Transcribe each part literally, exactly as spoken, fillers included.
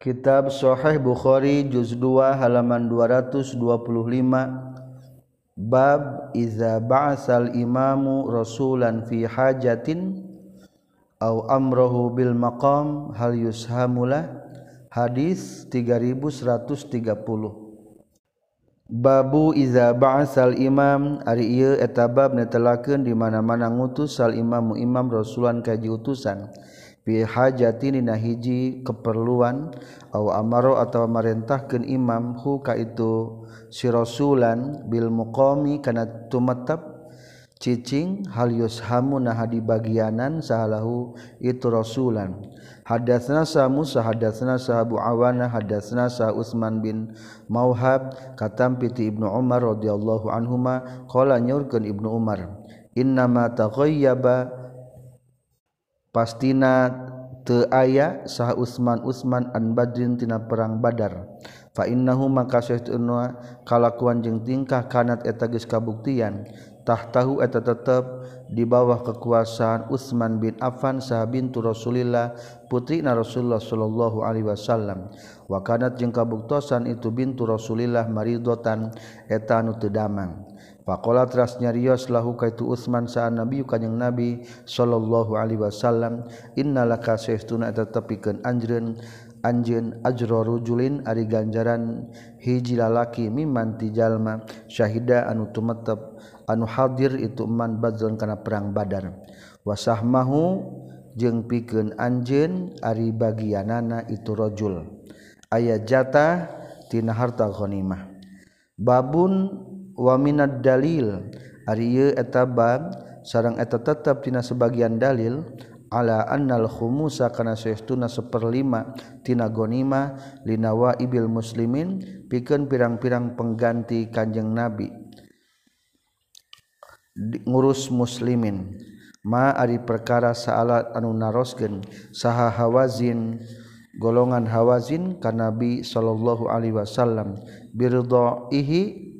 Kitab Sahih Bukhari juz dua halaman dua ratus dua puluh lima. Bab iza ba'asal imamu rasulan fi hajatin au amrohu bil maqam hal yushamulah. Hadis tiga ribu seratus tiga puluh. Babu iza ba'asal imam ari ieu eta bab netelakeun di mana-mana ngutus sal imamu imam rasulan kaji utusan fi hajatin dina hiji keperluan au amaro atawa marentahkeun imam hu ka itu si rasulan bil muqami kana tumetep cicing hal yushamu nah dibagianan sahalahu itu rasulan. Hadatsna sa Musa hadatsna sa Abu Awana hadatsna sa Utsman bin Mauhab katam piti Ibnu Umar radhiyallahu anhuma qala nyaurkeun Ibnu Umar innama taghayyaba pastina teu aya saha Utsman Utsman an Badrin tina perang Badar fa innahu maka saestuna kalakuan jeung tingkah kanat eta geus kabuktian tahtahu eta tetep di bawah kekuasaan Utsman bin Affan saha bintu Rasulillah putrina Rasulullah sallallahu alaihi wasallam wa kanat jeung kabuktosan itu bintu Rasulillah maridotan eta anu teu damang faqala teras nyarios lahu kaitu Utsman saha nabi kanjing nabi sallallahu alaihi wasallam innalaka saestuna eta tepikeun anjeun anjeun ajra rujulin ari ganjaran hiji lalaki mimman ti jalma syahida anu tumetep anu hadir itu man badron kana perang Badar wasahmahu jeung pikeun anjeun ari bagianana itu rajul aya jatah tina harta ghanimah. Babun wa minad dalil ari ieu eta bab sareng eta tetep tina sebagian dalil ala annal khumusa kana saestuna seperlima tina ghanimah linawa ibil muslimin pikeun pirang-pirang pengganti Kanjeng Nabi ngurus muslimin ma ari perkara saala anu naroskeun saha Hawazin golongan Hawazin ka Nabi sallallahu alaihi wasallam biridaihi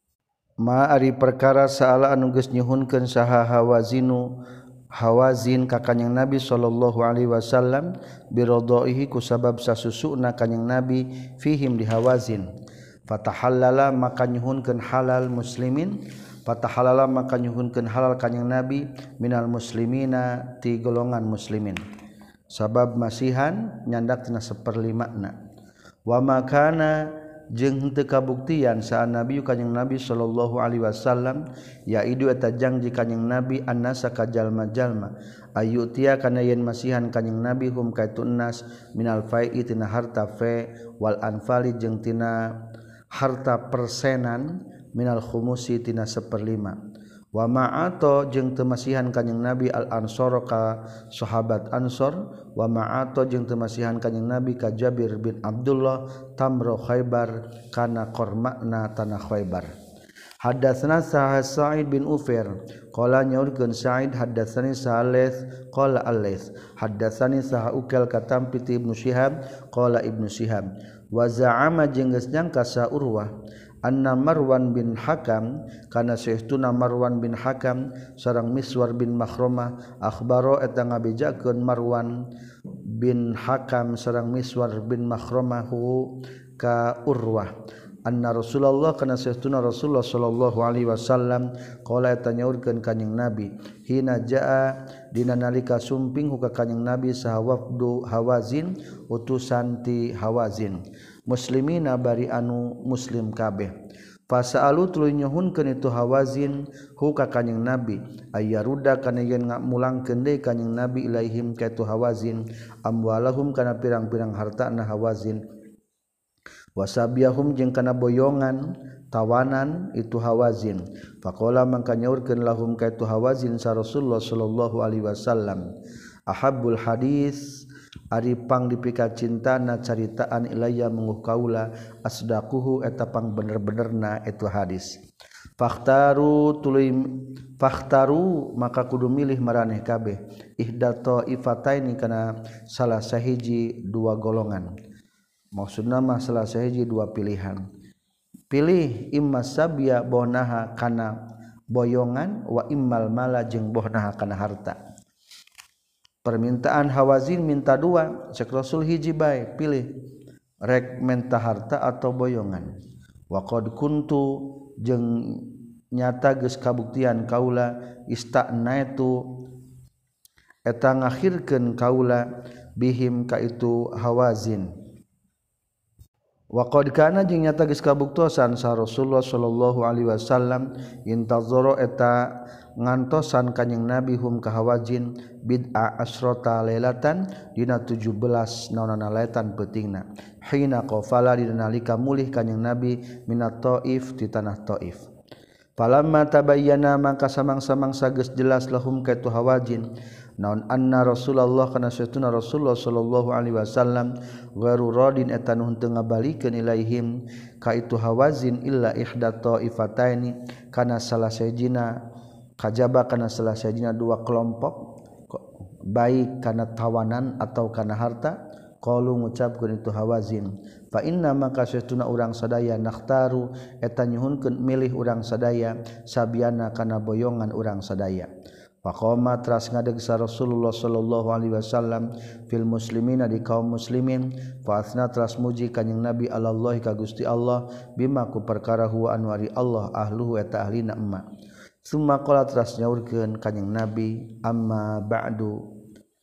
ma ari perkara saala anu geus nyuhunkeun saha Hawazinu Hawazin ka Kanjeng Nabi sallallahu alaihi wasallam biridaihi ku sabab sasusuna Kanjeng Nabi fihim di Hawazin fatahallala maka nyuhunkeun halal muslimin fatahalala maka nyuhunkeun halal Kanjeng Nabi minal muslimina ti golongan muslimin sabab masihan nyandak tina saperlimana wa makana jeung teu kabuktian saha Nabi Kanjeng Nabi sallallahu alaihi wasallam yaidu eta janji Kanjeng Nabi annasa ka jalma-jalma ayutia kana yen masihan Kanjeng Nabi hum kaitu nas minal fai'i tina harta fe wal anfali jeung tina harta persenan minal khumusi tina seperlima wa ma'ato jeung teu masihan Kanjeng Nabi al ansor ka sahabat Ansor wa ma'ato jeung teu masihan Kanjeng Nabi ka Jabir bin Abdullah tamro Khaybar kana kormana tanah Khaybar. Hadatsana Sa'id bin Ufair qala nyaurkeun Sa'id hadatsani Salih qala Al-Laits hadatsani saha ukal katam piti Ibnu Syihab qala Ibnu Syihab wa za'ama jeung geus nyangka sa Urwah anna Marwan bin Hakam kana saestuna Marwan bin Hakam sareng Miswar bin Makhromah akhbaro eta ngabejakeun Marwan bin Hakam sareng Miswar bin Makhromah ka Urwah anna Rasulullah kana saestuna Rasulullah sallallahu alaihi wasallam qala eta nyaurkeun Kanjeng Nabi hina jaa dina nalika sumping ka Kanjeng Nabi saha wafdu Hawazin utusan ti Hawazin muslimina bari anu muslim kabeh fasaalu tuluy nyuhunkeun itu Hawazin hu ka Kanjeng Nabi ayaruda kana yen ngamulangkeun deui Kanjeng Nabi ilaihim ka itu Hawazin amwalahum kana pirang-pirang hartana Hawazin wasabiahum jeung kana boyongan tawanan itu Hawazin faqala mangka nyaurkeun lahum ka itu Hawazin sa Rasulullah sallallahu alaihi wasallam ahabbul hadis ari pang dipika cintana caritaan ilayya menguh kaula asdaquhu eta pang bener-benerna itu hadis fakhtaru tuluy fakhtaru maka kudu milih maraneh kabeh ihdato ifataini kana salah sahiji dua golongan maksudna mah salah sahiji dua pilihan pilih imma sabya bonaha kana boyongan wa immal mala jeung bohnaha kana harta permintaan Hawazin minta dua cek Rasul hiji bae pilih rek menta harta atau boyongan wa qad kuntu jeung nyata geus kabuktian kaula istanaitu eta ngakhirkeun kaula bihim ka itu Hawazin wa qad kana jeung nyata geus kabuktosan sa Rasulullah sallallahu alaihi wasallam intazara eta ngantosan kanjing Nabi hum ka Hawazin bid'a asrota lailatan dina tujuh belas naonana laetan peutingna hina qafala dina nalika mulih kanjing Nabi minat Taif ti tanah Taif falamma tabayyana mangka samang-samangsa geus jelas lahum ka itu Hawazin naon anna Rasulullah kana satuna Rasulullah sallallahu alaihi wasallam ghairu radin eta nu teu ngabalikeun ilaihim ka itu Hawazin illa ihda taifataini kana salah sahijina kajaba kana salah sahijina dua kelompok baik kana tawanan atau kana harta qalu ngucapkeun itu Hawazin fa inna maka satuna urang sadaya nakhtaru eta nyuhunkeun milih urang sadaya sabiana kana boyongan urang sadaya faqama teras ngadeg sa Rasulullah sallallahu alaihi wasallam fil muslimina di kaum muslimin fa asna teras muji kanjing Nabi Allah ka Gusti Allah bima ku perkara huwa anwari Allah ahluhu eta ahlina emma summa qala teras nyaurkeun kanjing Nabi amma ba'du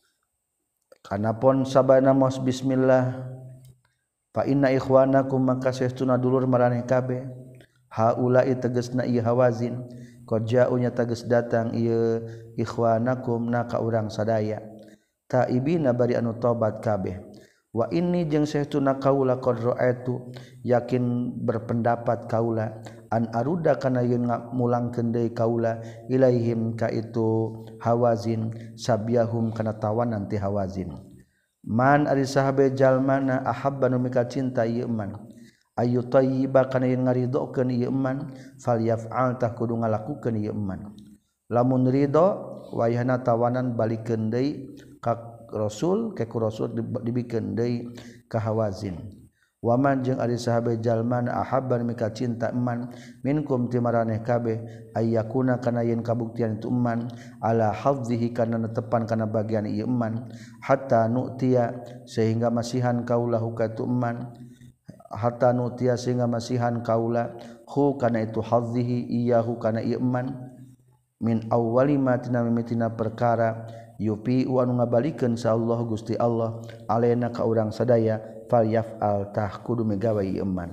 kanapon sabana mos bismillah fa inna ikhwanakum maka saestuna dulur maraneh kabeh haula'i tegasna ieu Hawazin qad ja'unya tegas datang ieu ikhwanakum na ka urang sadaya taibina bari anu tobat kabeh wa inni jeung saestuna kaula qad ra'aitu yakin berpendapat kaula an aruda kana yeun ngamulangkeun deui kaula ilaihim ka itu Hawazin sabyahum kana tawanan ti Hawazin man ari sahabe jalmana ahabba nu mika cinta ieu man ayu tayyiba kana yeun ngaridokeun ieu man falyaf'al tah kudu ngalakukeun ieu man lamun ridho wayahna tawanan balikeun deui ka Rasul ke ku Rasul dibikeun deui ka Hawazin waman jeung ari sahabe jalmana ahabban mika cinta eman minkum ti maraneh kabeh ayyakuna kana yen kabuktian itu eman ala hafzihi kana netepan kana bagian ieu eman hatta nu'tiya sehingga masihan kaula ka itu eman hatta nu'tiya sehingga masihan kaula hu kana itu hafzihi iyahu kana ieu eman min awwali ma tina mimitina perkara yupi anu ngabalikeun sa Allah Gusti Allah alena ka urang sadaya fal yaf'al tah kudu megawe ieu eman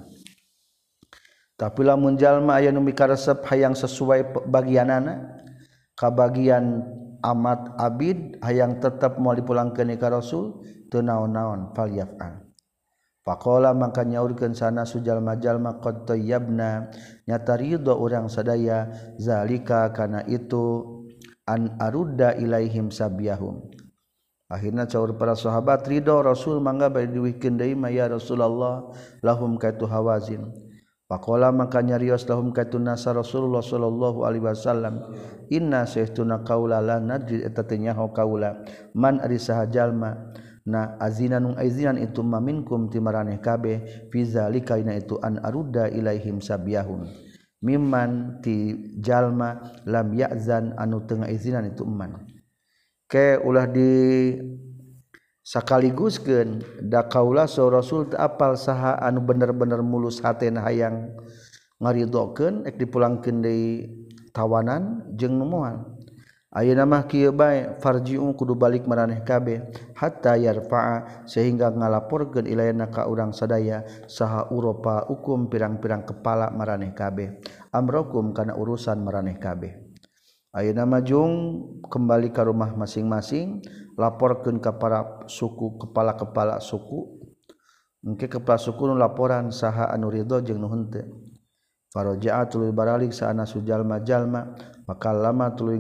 tapi lamun jalma aya nu mikaresep hayang sesuai bagianana ka bagian amat abid hayang tetep moal dipulangkeun ka Rasul teu naon-naon fal yaf'al faqala maka nyaurkeun sana sujalma-jalma qad tayyabna nyata ridho urang sadaya zalika kana itu an arudda ilaihim sabyahum akhirna caur para sahabat ridho Rasul mangga bari diwihkeun deui ma ya Rasulullah lahum kaitu Hawazin faqala maka nyarios lahum kaitu nasa Rasulullah sallallahu alaihi wasallam inna sahtuna qaula la nadri eta teh nyaho kaula man ari saha jalma na azinan aizinan itu maminkum ti maraneh kabeh fi zalika ina itu an arudda ilaihim sabyahum mimman ti jalma lam ya'zan anu teu ngaizinan itu eman ke ulah di sakaliguskeun da kaula sa Rasul teu apal saha anu bener-bener mulus hatena hayang ngaridokeun ek dipulangkeun deui tawanan jeung nu moal ayeuna mah kieu bae farji'u kudu balik maraneh kabeh hatta yarfa'a sehingga ngalaporkeun ilayana ka urang sadaya saha uropa ukum pirang-pirang kepala maraneh kabeh amrokum kana urusan maraneh kabeh ayeuna mah jung kembali ka rumah masing-masing laporkeun ka para suku kepala-kepala suku engke kepala suku nu laporan saha anu ridho jeung nu henteu faraja'a tuluy baralik saana sujalma-jalma maka lama tuluy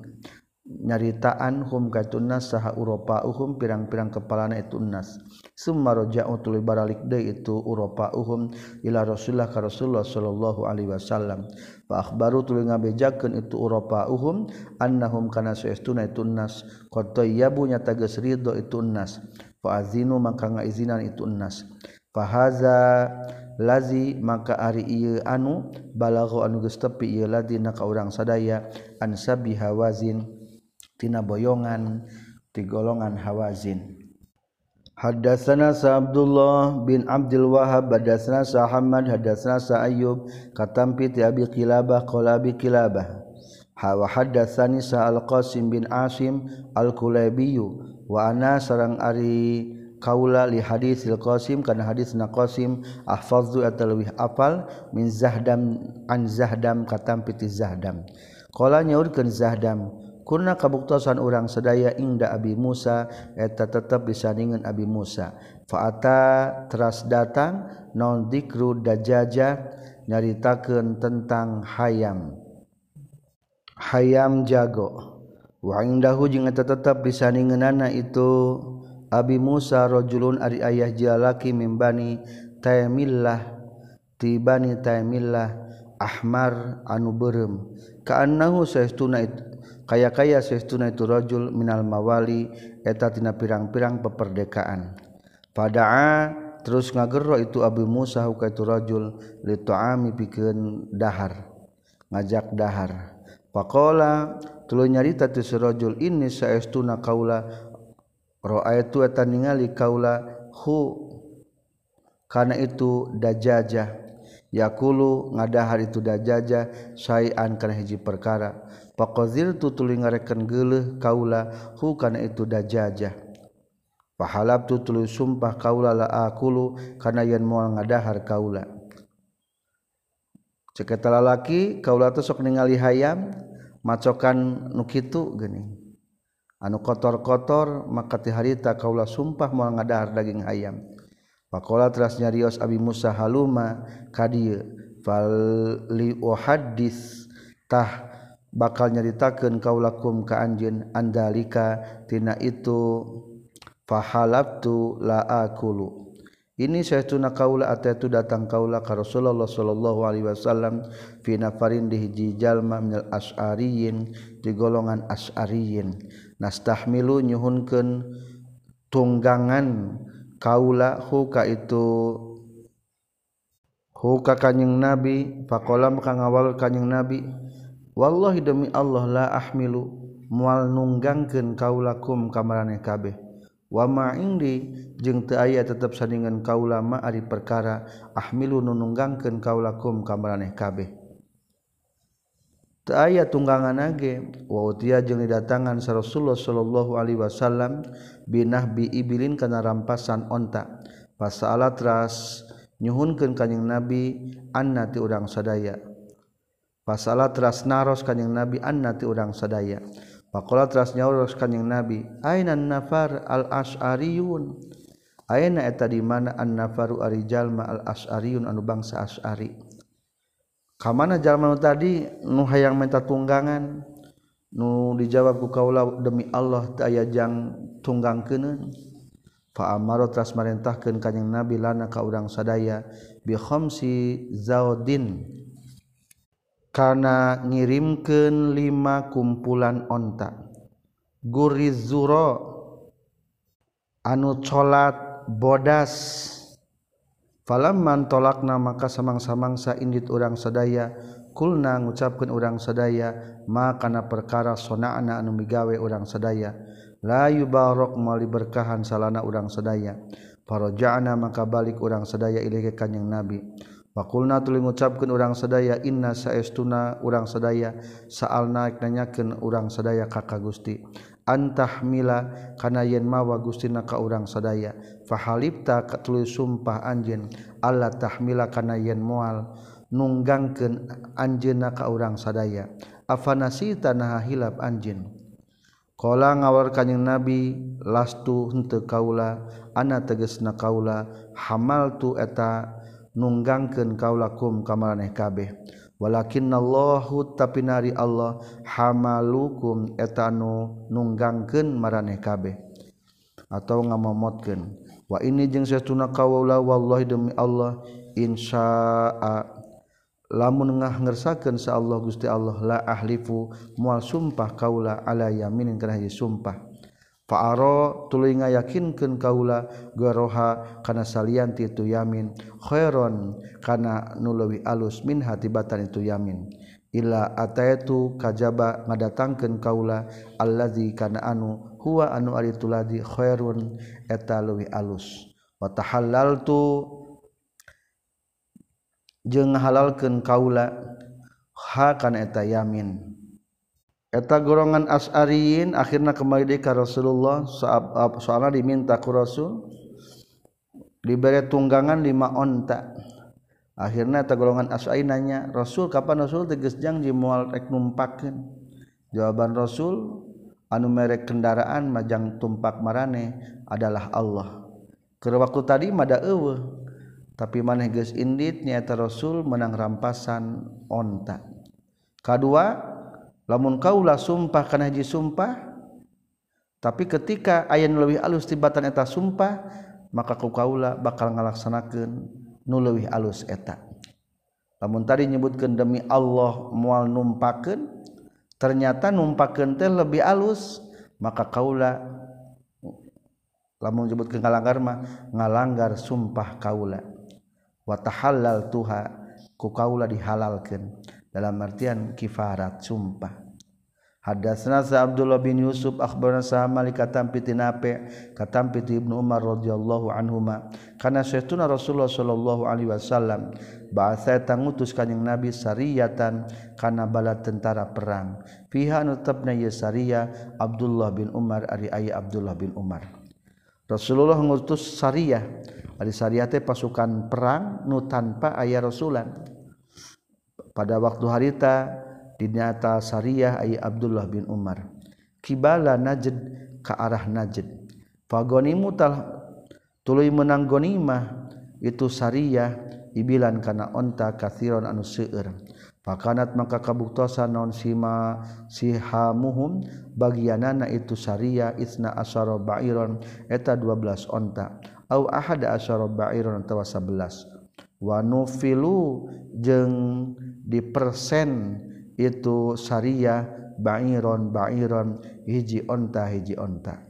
nyaritaan hum katunas saha uropauhum pirang-pirang kepalana itu nas summa raja'u tuluy baralik deui itu uropauhum ila Rasulullah ka Rasulullah sallallahu alaihi wasallam fa akhbaru tuluy ngabejakeun itu uropauhum annahum kana saestuna itu nas qad tayyabu nyata geus ridho itu nas fa azinu maka ngaizinan itu nas fa haza lazi maka ari ieu anu balagha anu geus tepi ieu ladina ka urang sadaya an sabi Hawazin tina boyongan ti golongan Hawazin Hadatsana sa Abdullah bin Abdul Wahhab hadatsana sa Ahmad hadatsana sa Ayyub katampi ti Abi Qilabah qala Abi Qilabah wa hadatsani sa Al-Qasim bin Asim Al-Kulaibi wa ana sareng ari kaula li hadisil Qasim kana hadisna Qasim ahfazu atalwih apal min Zahdam an Zahdam katampi ti Zahdam qala nyaurkeun Zahdam kunna kabuktosan urang sadaya ingda Abi Musa eta tetep disandingan Abi Musa faata teras datang non dzikru dajaja nyaritakeun tentang hayam hayam jago wa indahu jeung eta tetep disandingeunana itu Abi Musa rajulun ari ayah jalaki mimbani Taymillah ti bani Taymillah ahmar anu beureum kaannahu saestuna itu kaya-kaya saestuna itu rajul minal mawali eta tina pirang-pirang peperdekaan padaa terus ngagerro itu Abu Musa ka itu rajul li ta'ami pikeun dahar ngajak dahar faqala tuluy nyarita tu rajul ini saestuna kaula ra'aitu eta ningali kaula hu kana itu dajajah yakulu ngadahar itu dajajah sayan kana hiji perkara faqaziltu tuluy ngarekeun geuleuh kaula hu kana itu dajajah fahalabtu tuluy sumpah kaula la aqulu kana yen moal ngadahar kaula cek eta lalaki kaula teh sok ningali hayam macokan nu kitu geuning anu kotor-kotor maka ti harita kaula sumpah moal ngadahar daging hayam faqala teras nyarios Abi Musa haluma ka dieu fal li uhaddits tah bakal nyaritakeun kaulakum ka anjeun andalika tina itu fahalabtu la aqulu ini saestuna kaula atatu datang kaula ka Rasulullah sallallahu alaihi wasallam fi nafarin di hiji jalma minal asy'ariyin di golongan asy'ariyin nastahmilu nyuhunkeun tunggangan kaula hu ka itu hu ka kanjing Nabi faqala maka ngawal kanjing Nabi wallahi demi Allah la ahmilu moal nunggangkeun kaulakum ka maraneh kabeh wa ma indi jeung teu aya tetep sandingan kaula ma ari perkara ahmilu nu nunggangkeun kaulakum ka maraneh kabeh teu aya tunggangan ge wa utiya jeung didatangan sa Rasulullah sallallahu alaihi wasallam binahbi ibilin kana rampasan onta pasala teras nyuhunkeun kanjing Nabi anna ti urang sadaya pasala teras naros kanjing Nabi anna ti urang sadaya faqala teras nyauros kanjing Nabi aina nafar al asy'ariyun aina eta di mana an nafaru ari jalma al asy'ariyun anu bangsa asy'ari ka mana jalma nu tadi nu hayang minta tunggangan nu dijawab ku kaula demi Allah teu aya jang tunggangkeuneun fa amara teras marentahkeun kanjing Nabi lana ka urang sadaya bi khamsi zaudin kana ngirimkeun lima kumpulan onta gurizuro anu colat bodas falamman tolakna maka samang-samangsa indit urang sadaya kulna ngucapkeun urang sadaya ma kana perkara sona'na anu migawe urang sadaya la yubarak moal diberkahan salana urang sadaya faraja'na maka balik urang sadaya ilaih ka kanjing Nabi faqulna tuluy ngucapkeun urang sadaya inna saestuna urang sadaya saalna nanyakeun urang sadaya ka ka Gusti antahmila kana yen mawa Gustina ka urang sadaya fahalibta tuluy sumpah anjeun alla tahmila kana yen moal nunggangkeun anjeunna ka urang sadaya afanasita naha hilap anjeun qala ngawar kanjing Nabi lastu henteu kaula ana tegasna kaula hamaltu eta nunggangkeun kaulakum ka maraneh kabeh walakinnallahu tapi nari Allah hamalukum eta anu nunggangkeun maraneh kabeh atau ngamomotkeun wa ini jeung saestuna kaula wallahi demi Allah insyaa lamun ngah ngersakeun sa Allah Gusti Allah la ahlifu moal sumpah kaula ala yaminin kana hiji sumpah fa'ara tuluy ngayakinkeun kaula garoha kana salianti itu yamin khairon kana nu leuwih alus min hatibatan itu yamin illa ataitu kajaba ngadatangkeun kaula allazi kana anu huwa anu ari tuladi khairun eta leuwih alus wa tahallaltu jeung halalkeun kaula ha kana eta yamin eta golongan Asy'ariyin akhirna kembali deui ka Rasulullah soalna diminta ku Rasul diberi tunggangan lima onta. Akhirna eta golongan Asy'ari nanya, Rasul kapan Rasul tegas janji moal rek numpakeun? Jawaban Rasul, anu merek kendaraan majang tumpak marane adalah Allah. Keur waktu tadi mada eueuh, tapi maneh geus indit nyaeta Rasul menang rampasan onta. Kadua, lamun kaula sumpah kana hiji sumpah, tapi ketika aya nu leuwih alus tibatan eta sumpah, maka ku kaula bakal ngalaksanakeun nu leuwih alus eta. Lamun tadi nyebutkeun demi Allah moal numpakeun, ternyata numpakeun teh lebih alus, maka kaula lamun nyebutkeun ngalanggar mah ngalanggar sumpah kaula. Wa tahallal tuha ku kaula dihalalkeun dalam artian kifarat sumpah. Hadatsana Abdullah bin Yusuf akhbarana sa Malik katam piti Nafi' katam piti Ibnu Umar radhiyallahu anhuma kana sayyiduna Rasulullah sallallahu alaihi wasallam ba'atha tangutus kanjing Nabi sariyatan kana bala tentara perang fiha nutabna ya sariyah Abdullah bin Umar ari aya Abdullah bin Umar. Rasulullah ngutus sariyah ari sariyah teh pasukan perang nu tanpa aya rasulan pada waktu harita dinyata sariyah ay Abdullah bin Umar kibala Najd ka arah Najd fagonimu tal tuluy menang gonimah itu sariyah ibilan kana onta kathiron anu seueur fakanat maka kabuktosan naon sima sihamuhum bagianana itu sariyah isna asyara ba'iron eta dua belas onta au ahada asyara ba'iron atawa sebelas wa nufilu jeung dipersen itu sariyah ba'iron ba'iron hiji onta hiji onta.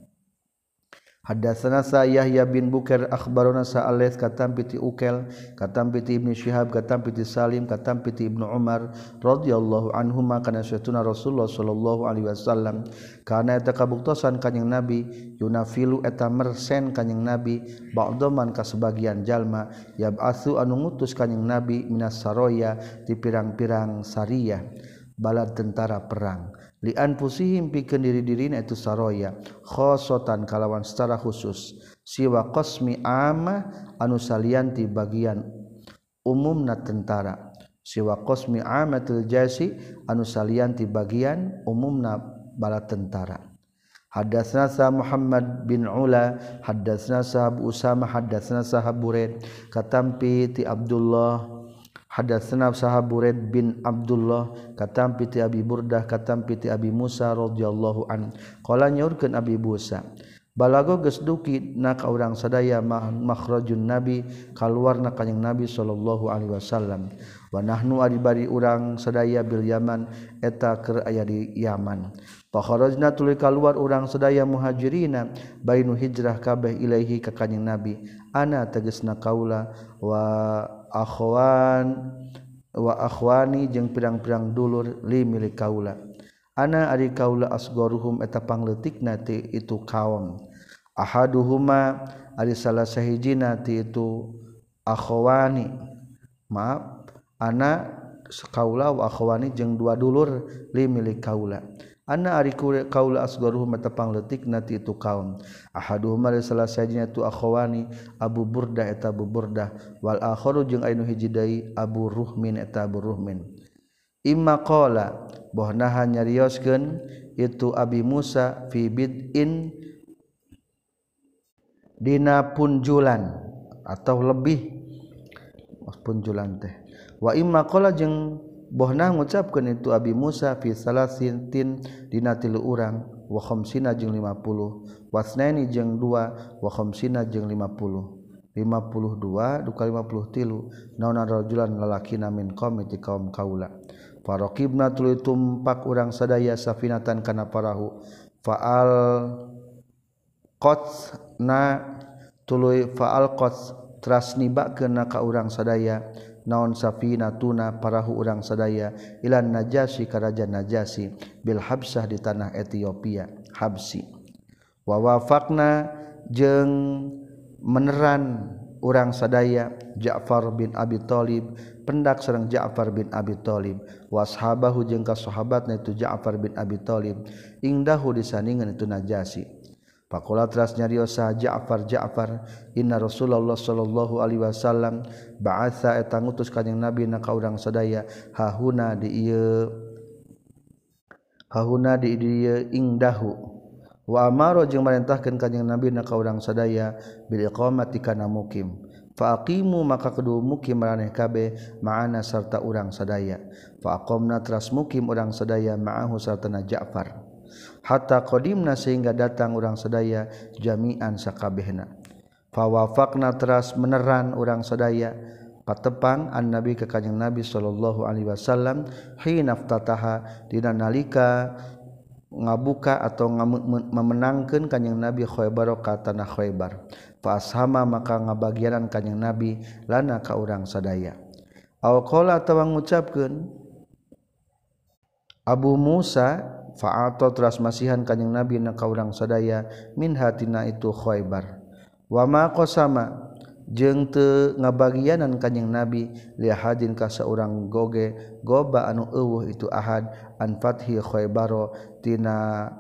Hadatsana Yahya bin Bukair akhbarana Sa'alaits katam piti Ukel katam piti Ibnu Syihab katam piti Salim katam piti Ibnu Umar radhiyallahu anhuma kana sayyiduna Rasulullah sallallahu alaihi wasallam kana eta kabuktosan kanjing Nabi yunafilu eta mersen kanjing Nabi ba'daman ka sebagian jalma yab'atsu anu ngutus kanjing Nabi minas saroya ti pirang-pirang sariyah bala tentara perang lian pusihim pikeun diri-dirina itu saroya khosotan kalawan secara khusus siwa qasmi amma anu salianti bagian umumna tentara siwa qasmi amatil jasi anu salianti bagian umumna bala tentara. Hadatsna sa Muhammad bin Ula hadatsna sa Abu Usama hadatsna sa Buraid katampi ti Abdullah hadatsana sahab Buraid bin Abdullah katam piti Abi Burdah katam piti Abi Musa radhiyallahu an qala nyaurkeun Abi Musa balago geus duki na ka urang sadaya makhrajun nabi kaluarna kanjing Nabi sallallahu alaihi wasallam wa nahnu ari bari urang sadaya bil Yaman eta keur aya di Yaman fa kharajna tuluy kaluar urang sadaya muhajirina bainu hijrah kabeh ilaihi ka kanjing Nabi ana tegasna kaula wa akhwan wa akhwani jeung pirang-pirang dulur li milik kaula ana ari kaula asgharuhum eta pangleutikna ti itu kaum ahaduhuma ari salah sahijina ti itu akhwani maaf ana kaula wa akhwani jeung dua dulur li milik kaula ana ari kaula asgharuhum eta pangleutikna ti itu kaum ahaduhum ari salah sahijina tu akhwani Abu Burdah eta Abu Burdah wal akharu jeung anu hiji deui Abu Ruhmin eta Abu Ruhmin imma qala bohnaha nyarioskeun itu Abi Musa fi bid'in dina punjulan atau lebih punjulan teh wa imma qala jeung bohna ngucapkeun itu Abi Musa fi salasin dina tilu urang wa khamsina jeung lima puluh wasnaini jeung dua wa khamsina jeung lima puluh lima puluh dua duka lima puluh tilu nauna rajulan lalakina min qaumi ti kaum kaula faraqibna tuluy tumpak urang sadaya safinatan kana parahu faal qatsna tuluy faal qats trasnibakeun ka urang sadaya naon safinatuna parahu urang sadaya ilan Najasyi ka raja Najasyi bil Habsah di tanah Ethiopia Habsi wa wafaqna jeung meneran urang sadaya Ja'far bin Abi Thalib pendak sareng Ja'far bin Abi Thalib washabahu jeung ka sahabatna itu Ja'far bin Abi Thalib ingdahu disandingan itu Najasyi. Faqala teras nyariosa Ja'far Ja'far inna Rasulullah sallallahu alaihi wasallam ba'atha eta ngutus kanjing Nabi na ka urang sadaya hahuna di ieu hahuna di ieu ingdahu wa amara jeung marentahkeun kanjing Nabi na ka urang sadaya bil iqamati kana mukim fa aqimu maka kudu mukim maraneh kabeh ma'ana sarta urang sadaya fa aqamna teras mukim urang sadaya ma'ahu sartana Ja'far hatta qadimna sehingga datang urang sadaya jami'an sakabehna fa wafaqna teras meneran urang sadaya patepang an nabi ka kanjing Nabi sallallahu alaihi wasallam hina ftataha dina nalika ngabuka atau memenangkeun kanjing Nabi Khaybar ka tanah Khaybar fa ashama maka ngabagianan kanjing Nabi lana ka urang sadaya aw qala atawa ngucapkeun Abu Musa fa'ato teras masihan kanjing Nabi na ka urang sadaya min hatina itu Khaybar wa ma qasama jeung teu ngabagianan kanjing Nabi li hadin ka saurang goge goba anu eueuh itu ahad an fathi Khaybar tina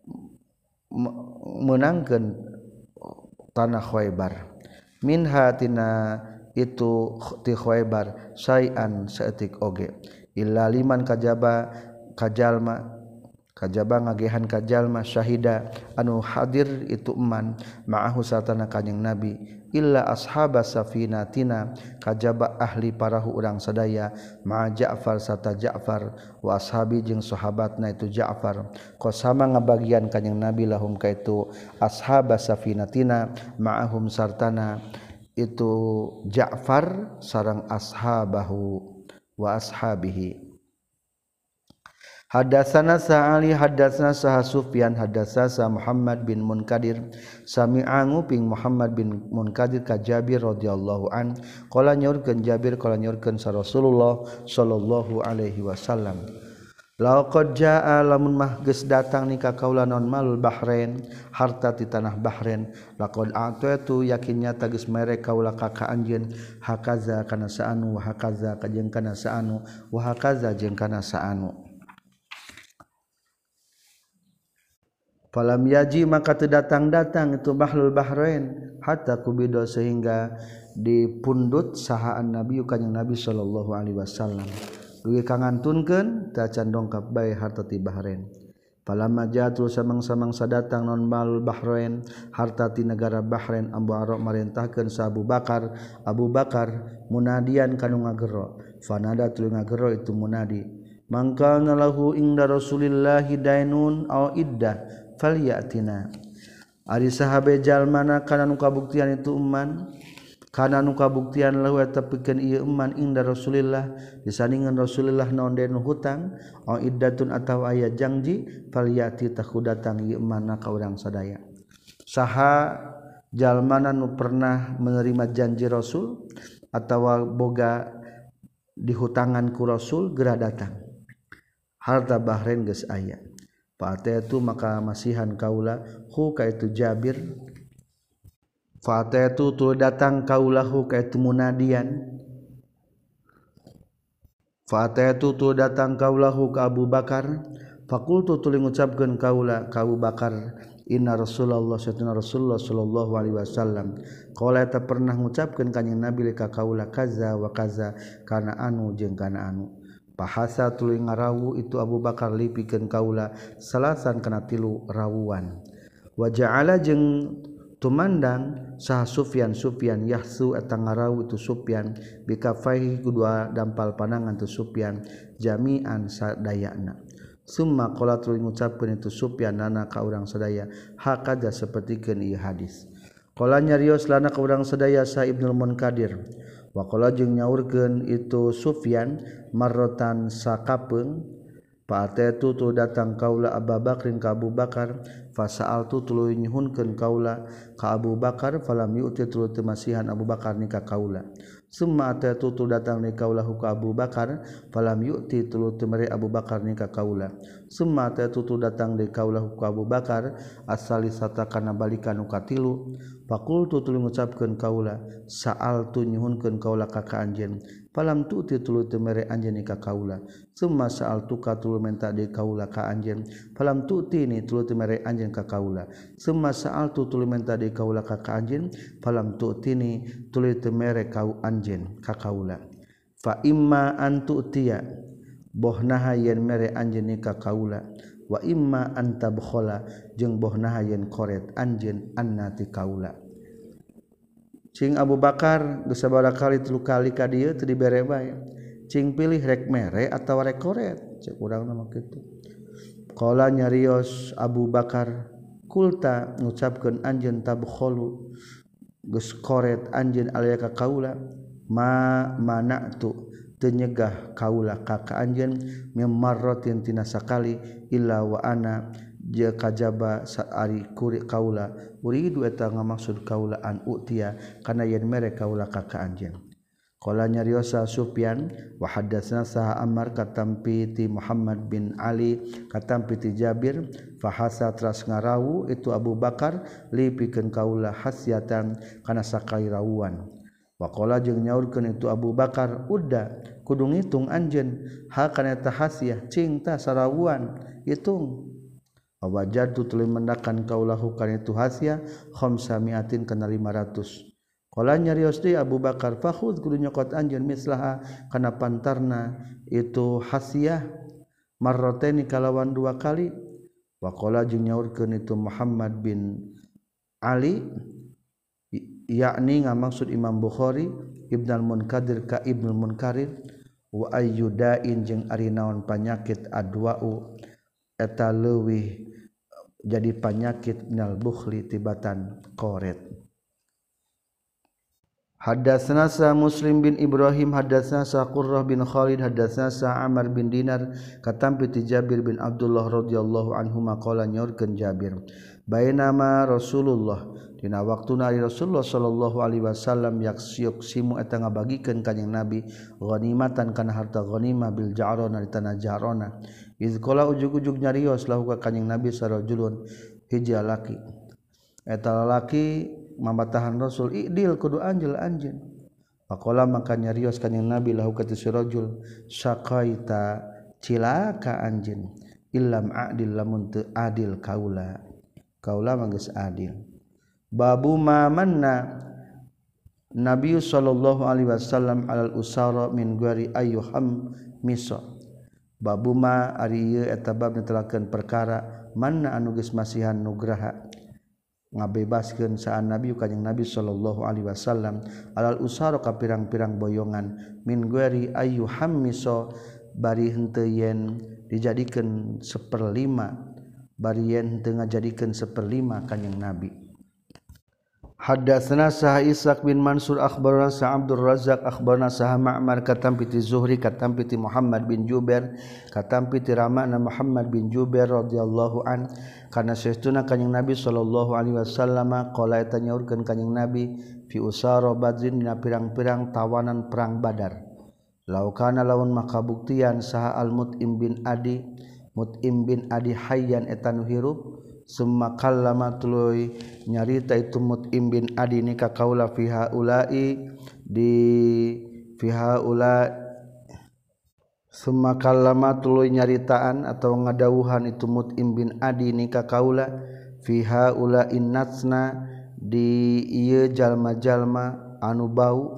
menangkeun tanah Khaybar min hatina itu ti Khaybar sayan saeutik oge illa liman kajaba kajalma kajaba ngagehan kajalma syahida anu hadir itu eman ma'ahu satana kanjing Nabi illa ashabas safinatina kajaba ahli parahu urang sadaya ma Ja'far sata Ja'far wa ashabi jeung sahabatna itu Ja'far qasama ngabagian kanjing Nabi lahum ka itu ashabas safinatina ma'ahum sartana itu Ja'far sareng ashabahu wa ashabihi. Hadatsana Sa'ali hadatsana Sah Sufyan hadatsana Muhammad bin Munkadir sami'a nguping Muhammad bin Munkadir ka Jabir radhiyallahu an qala nyaurkeun Jabir qala nyaurkeun sa Rasulullah sallallahu alaihi wasallam laqad jaa lamun mah geus datang ni ka kaula naon malul Bahrain harta ti tanah Bahrain laqad a'tatu yakinnya tagis mere kaula ka ka anjeun hakaza kana saanu wa hakaza ka jeung kana saanu wa hakaza jeung kana saanu. Falam yaji maka teu datang-datang itu bahlul Bahrain hatta kubido sehingga dipundut sahaan Nabi kanjing Nabi sallallahu alaihi wasallam dugi kangantunkeun ta can dongkap bae harta ti Bahrain. Falamma jatu samang-samang sadatang non bahlul Bahrain harta ti negara Bahrain Abu Arab marentahkeun sa Abu Bakar Abu Bakar munadian kanu ngagero fanada tuluy ngagero itu munadi mangka lahu inda Rasulillahi dainun aw iddah falyatina ari sahabe jalmana kana nu kabuktian itu eman kana nu kabuktian lahu eta pikeun ieu eman inda Rasulillah disandingan Rasulillah naon den hutang au iddatun atawa aya janji falyati tahu datang ieu eman ka urang sadaya saha jalmana nu pernah menerima janji Rasul atawa boga dihutangan ku Rasul geura datang harta Bahrain geus aya Fa'atatu maka masihan kaula hu ka itu Jabir Fa'atatu tu datang kaulahu ka itu munadian Fa'atatu tu datang kaulahu ka Abu Bakar faqultu tuluy ngucapkeun kaula ka Abu Bakar inna Rasulullah satuna Rasulullah sallallahu alaihi wasallam qala ta pernah ngucapkeun kanjing Nabi ka kaula kaza wa kaza kana anu jeung kana anu Bahasa tuluy ngarawu itu Abu Bakar lipikeun kaula salasan kana tilu rawuan wa ja'ala jeung tumandang sah Sufyan Sufyan yahsu eta ngarawu itu Sufyan bikafaihi kedua dampal panangan tu Sufyan jami'an sadayana summa qala tuluy ngucapkeun itu Sufyan nana ka urang sadaya hakada sapertikeun ieu hadis qala nyarios lana ka urang sadaya sa Ibnul Munkadir wa qala jeung nyaurkeun itu Sufyan marrotan sakapeung Fa'atatu tu datang kaula Abu Bakrin ka Abu Bakar fasa'altu tuluy nyuhunkeun kaula ka Abu Bakar falam yu'ti tuluy teu masihan Abu Bakar ni ka kaula summa tutu datang ni kaulah ka Abu Bakar falam yu'ti tulu temere Abu Bakar ni ka kaula summa tutu datang di kaulah ka Abu Bakar asalisata kana balikan nu katilu faqultu tulu ngucapkeun kaula sa'altu nyuhunkeun kaula ka ka anjeun falam tu'ti tulu temere anjeun ni ka kaula summa sa'altu ka tulu menta di kaula ka anjeun falam tu'ti ni tulu temere anjeun ka kaula summa sa'altu tulu menta di kaula ka ka anjeun falam tu'ti ni tulu temere kau anjeun ka kaula fa imma an tu'tiya bohnaha yen mere anjeun ni ka kaula wa imma an tabkhala jeung bohnaha yen koret anjeun annati kaula cing Abu Bakar geus sabaraha kali tilu kali ka dieu teu dibere bae cing pilih rek mere atawa rek koret cek urang mah kitu qala nyarios Abu Bakar kulta ngucapkeun anjeun tabkhalu geus koret anjeun alaya ka kaula ma mana'tu teu nyegah kaula ka ka anjeun mimarratin tina sakali illa wa ana je kajaba saari kuri kaula uridu eta ngamaksud kaula an utia kana yen mere kaula ka ka anjeun qala nyariosa Sufyan wa hadatsana sa Ammar katampi ti Muhammad bin Ali katampi ti Jabir fa hasatras ngarawu itu Abu Bakar li pikeun kaula hasyatan kana sakali rawuan wa qala jeung nyaurkeun itu Abu Bakar udda kudu ngitung anjeun ha kana eta hasyah cing tah sarawuan hitung wajadu tuluy mendakan kaulahu kana itu hasyah khamsamiatin kana lima ratus qala nyarios deui Abu Bakar fakhudz kudu nyokot anjeun mislaha kana pantarna itu hasyah marrataini kalawan dua kali wa qala jeung nyaurkeun itu Muhammad bin Ali yakni ngamaksud Imam Bukhari Ibnul Munkadir ka Ibnul Munkarir wa ayyudain jeung ari naon panyakit adwa'u eta leuwih jadi penyakit minal bukhli tibatan qoret hadatsana sa Muslim bin Ibrahim hadatsana sa Qurrah bin Khalid hadatsana sa Amr bin Dinar katampi ti Jabir bin Abdullah radhiyallahu anhuma qala nyorkeun Jabir bainama Rasulullah dina waktuna ari Rasulullah sallallahu alaihi wasallam yaksiyuk simu eta ngabagikeun kanjing Nabi ghanimatan kana harta ghanimah bil ja'rona di tanah Ja'rona iz qala ujug-ujug nyarios lahu ka kanjing Nabi sarajulun hiji lalaki eta lalaki mambatahan Rasul idil kudu anjeul anjeun faqala maka nyarios kanjing Nabi lahu ka sarajul syaqaita cilaka anjeun illam adil lamun teu adil kaula kaula mah geus adil babu ma manna Nabi sallallahu alaihi wasallam alal usara min ghairi ayyuham misa babu ma ari ieu eta bab netelakeun perkara manna anu geus masihan nugraha ngabebaskeun saan Nabi kanjing Nabi sallallahu alaihi wasallam alal usara ka pirang-pirang boyongan min ghairi ayyuham misa bari henteu yen dijadikeun seperlima bari yen teu ngajadikeun seperlima kanjing Nabi hadatsana sa Ishaq bin Mansur akhbarana sa Abdul Razzaq akhbarana sa Ma'mar katampi ti Zuhri katampi ti Muhammad bin Jubair katampi ti ramana Muhammad bin Jubair radhiyallahu an kana saestuna kanjing Nabi sallallahu alaihi wasallam qala eta nyaurkeun kanjing Nabi fi usara badrin dina pirang-pirang tawanan perang Badar laukana laun makabuktian saha al Mut'im bin Adi Mut'im bin Adi hayyan eta nu hirup summa kallama tuluy nyarita itu Mut'im bin Adi ni ka kaula fiha ulai di fiha ula summa kallama tuluy nyaritaan atau ngadawuhan itu Mut'im bin Adi ni ka kaula fiha ula innatsna di ieu jalma-jalma anu bau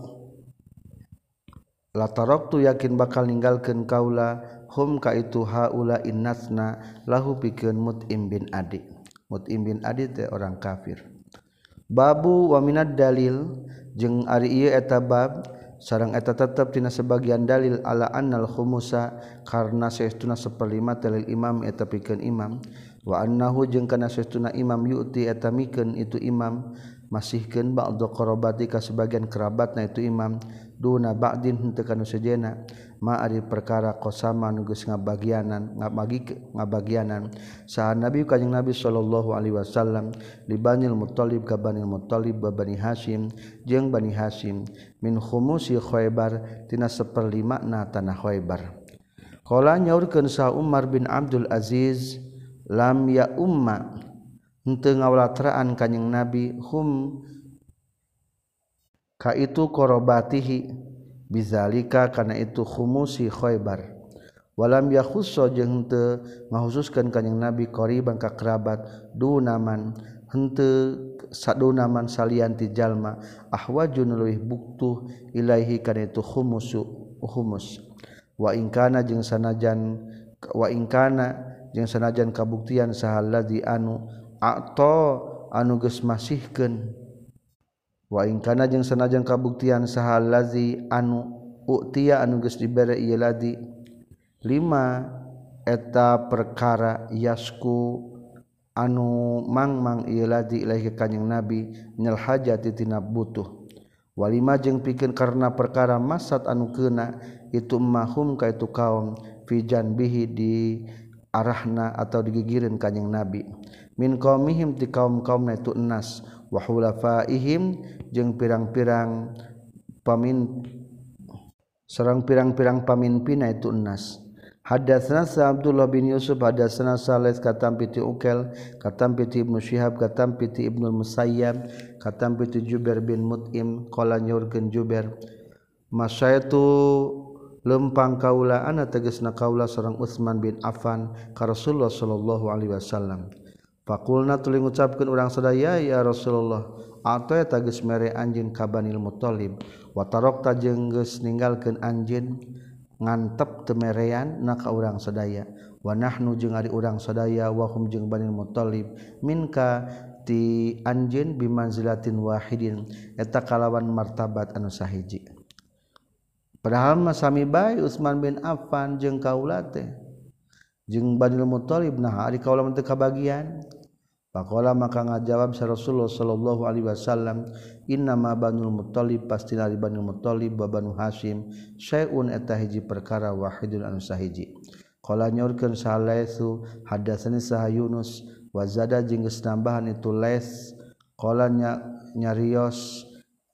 la taraktu yakin bakal ninggalkeun kaula hum ka itu haula innasna lahu pikeun Mut'im bin Adi Mut'im bin Adi teh orang kafir babu wa minad dalil jeung ari ieu eta bab sareng eta tetep tina sebagian dalil ala annal khumusa karna saestuna saperlima talil imam eta pikeun imam wa annahu jeung kana saestuna imam yu'ti eta mikeun itu imam masihkeun ba'dhu qarabati ka sebagian kerabatna itu imam duna ba'din henteu kana sejenna ma ari perkara qasama nu geus ngabagianan ngabagi ngabagianan saha nabi kanjing nabi sallallahu alaihi wasallam li Banil Muthalib ka Banil Muthalib ba Bani Hasyim jeung Bani Hasyim min khumusi Khaybar tina saperlima na tanah Khaybar. Qala nyaurkeun sa Umar bin Abdul Aziz lam ya umma henteu ngawalatraan kanjing nabi hum ka itu qarabatihi bizalika kana itu khumusi Khaybar walam yakhussa jeung henteu ngahususkeun kanjing nabi qariban ka kerabat dunaman henteu sadunaman salian ti jalma ahwajun leuwih buktuh ilaihi kana itu khumusu khumus wa in kana jeung sanajan wa in kana jeung sanajan kabuktian sahalladzi anu atau anu geus masihkeun wa in kana jeung sanajan kabuktian sahalladzi anu utiya anu geus dibere ieu ladi lima eta perkara yasku anu mangmang ieu ladi ilahi kanjing nabi minal hajati tina butuh walima jeung pikeun karena perkara masad anu keuna itu mahum ka itu kaum fi janbihi di arahna atau digigireun kanjing nabi min qaumihim ti kaum-kaumna itu enas wa hulafaihim jeung pirang-pirang pamin sareng pirang-pirang pamimpinna itu enas. Hadatsana Abdullah bin Yusuf hadatsana Salih katam piti Ukel katam piti Ibnu Syihab katam piti Ibnu Musayyab katam piti Jubair bin Mut'im qala nyaurkeun Jubair masyaitu lempang kaula ana tegasna kaula sareng Utsman bin Affan ka Rasulullah sallallahu alaihi wasallam faqulna tuluy ngucapkeun urang sadaya ya Rasulullah atoy eta geus mere anjeun ka Banil Muthalib wa tarakta jeung geus ninggalkeun anjeun ngantep temerean na ka urang sadaya wa nahnu jeung ari urang sadaya wa hum jeung Banil Muthalib minka ti anjeun bimanzilatin wahidin eta kalawan martabat anu sahiji. Padahal mah sami bae Utsman bin Affan jeung kaula teh jeung Banil Muthalib nah ari kaula teu kabagian. Faqala maka ngajawab sa Rasulullah sallallahu alaihi wasallam inna ma Banul Muthalib pasti ari Banil Muthalib wa Banu Hasyim syai'un eta hiji perkara wahidun anu sahiji. Qala nyorkeun salaisu hadatsani sah Yunus wa zada jeung geus nambahan itu les qala nyarios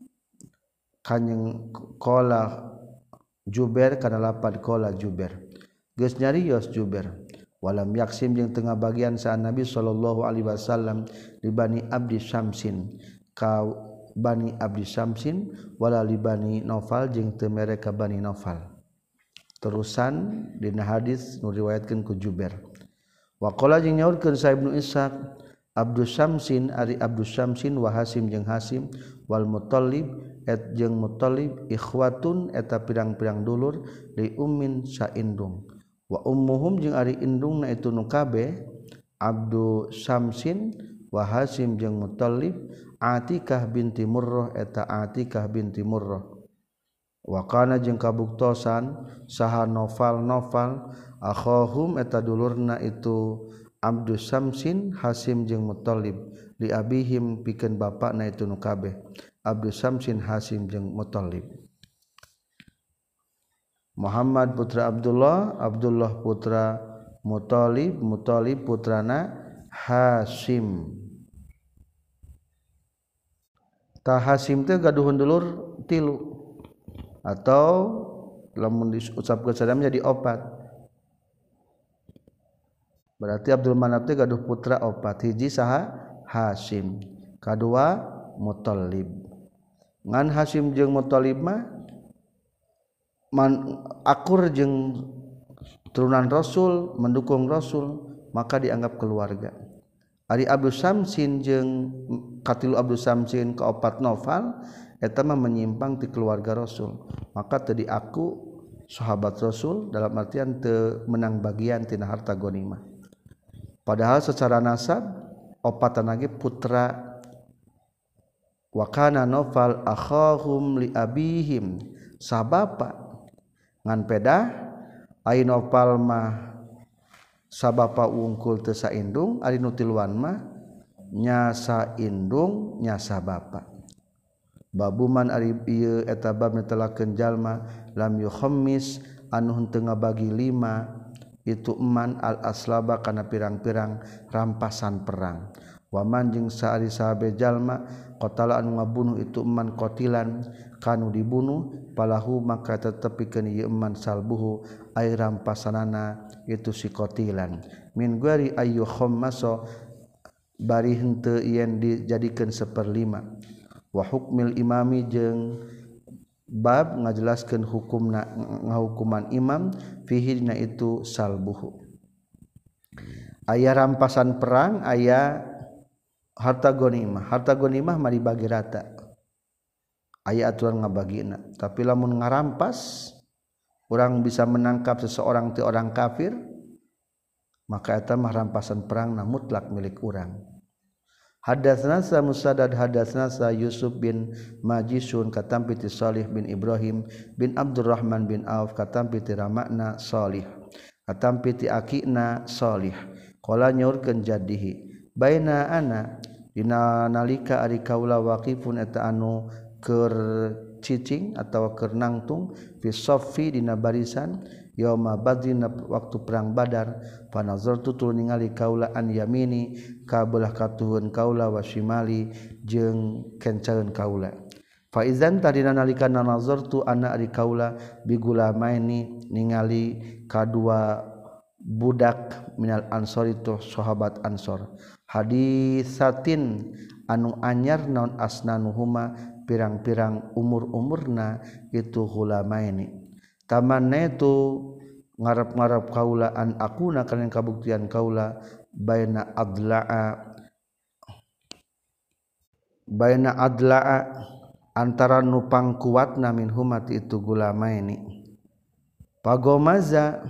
kanjing qala Jubair kana lapad qala Jubair geus nyarios Jubair walam yaksim jeung tengah bagian sa Nabi sallallahu alaihi wasallam li Bani Abdi Syamsin ka Bani Abdi Syamsin wala li Bani Naufal jeung teu mere ka Bani Naufal. Terusan dina hadis nu riwayatkeun ku Jubair. Wa qala jeung nyaurkeun sa Ibnu Ishaq Abdu Syamsin ari Abdu Syamsin wa Hasim jeung Hasim wal Muthalib et jeung Muthalib ikhwatun eta pirang-pirang dulur li ummin saindung wa ummuhum jeung ari indungna itu nu kabeh Abdu Syamsin wa Hasim jeung Muthalib Atikah binti Murrah eta Atikah binti Murrah wa kana jeung kabuktosan saha Nofal Nofal akhahum eta dulurna itu Abdu Syamsin Hasim jeung Muthalib li abihim pikeun bapana itu nu kabeh Abdu Syamsin Hasim jeung Muthalib. Muhammad putra Abdullah Abdullah putra Muthalib Muthalib putrana Hasim. Ta Hasim teh gaduhun dulur tilu atau lamun diucapkeun sadam jadi opat. Berarti Abdul Manaf teh gaduh putra opat hiji saha Hasim kadua Muthalib. Ngan Hasim jeung Muthalib mah man akur jeung turunan Rasul mendukung Rasul maka dianggap keluarga. Ari Abdu Syamsin jeung katilu Abdu Syamsin kaopat Nofal eta mah menyimpang ti keluarga Rasul maka teu diaku sahabat Rasul dalam artian teu menang bagian tina harta ghanimah. Padahal secara nasab opatan lagi putra wa kana Nofal akhahum li abihim sabapa ngan pedah ai Nofal mah sabapa wungkul teu saindung ari nu tiluan mah nyasa indung nyasa bapa babuman ari ieu eta bab netelakeun jalma lam yukhammis anu henteu ngabagi lima itu eman al aslaba kana pirang-pirang rampasan perang waman jeung saari sahabe jalma qatala anu ngabunuh itu eman qatilan kanu dibunuh palahu maka tetepikeun ieu eman salbuhu ai rampasanana itu si qatilan min guari ayu khammaso bari henteu yen dijadikeun saperlima wa hukmil imami jeung bab ngajelaskeun hukumna ngahukuman imam fihi dina itu salbuhu aya rampasan perang aya harta ghanimah harta ghanimah mah dibagi rata aya aturan ngabagina tapi lamun ngarampas urang bisa menangkap seseorang ti orang kafir maka eta mah rampasan perang na mutlak milik urang. Hadatsna sa Musaddad hadatsna sa Yusuf bin Majisun katampi ti Shalih bin Ibrahim bin Abdurrahman bin Auf katampi ti Ramakna Shalih katampi ti akina Shalih qala nyaurkeun jaddihi baina ana dina nalika ari kaula waqifun eta anu keur cicing atawa keur nangtung fi saffi dina barisan yauma badrin waktu perang Badar panazartu tu ningali kaula an yamini ka belah katuhun kaula wa shimali jeung kencaeun kaula fa izan tadina nalika nazartu ana ari kaula bigulamaini ningali kadua budak minal ansor itu sahabat ansor hadisatin anu anyar naon asnanuhuma pirang-pirang umur-umurna itu hulamaini tamanna itu ngarap-ngarap kaula an akuna kana kabuktian kaula baina adla'a baina adla'a antara nu pangkuatna min humati itu gulamaini pagomaza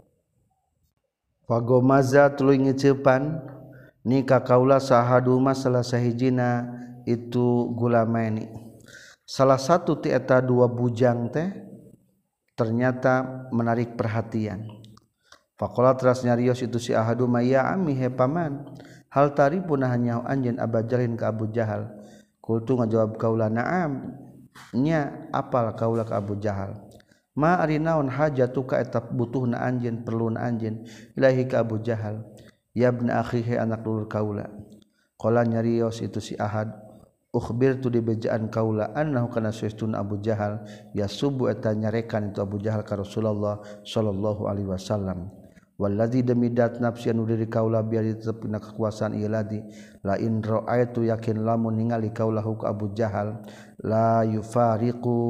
pagomaza tuluy ngiceupan nika kaula sahaduma salah sahijina itu gulamaini salah satu ti eta dua bujang teh ternyata menarik perhatian. Faqala teras nyarios itu si ahaduma ya ammi he paman hal taripuna hanya anjeun abajalin ka Abu Jahal kultu ngajawab kaula na'am nya apal kaula ka Abu Jahal ma ari naon hajatuka eta butuhna anjeun perluna anjeun ilahi ka Abu Jahal ya ibn akhihi anak dulur kaula qala nyarios itu si ahad ukhbirtu di bejaan kaula annahu kana saestuna Abu Jahal yasubu eta nyarekan itu Abu Jahal ka Rasulullah sallallahu alaihi wasallam wallazi demidat nafsi anu diri kaula biar tetepna kekuasaan ieu ladi la in ra'aitu yakin lamun ningali kaula hu ka Abu Jahal la yufariqu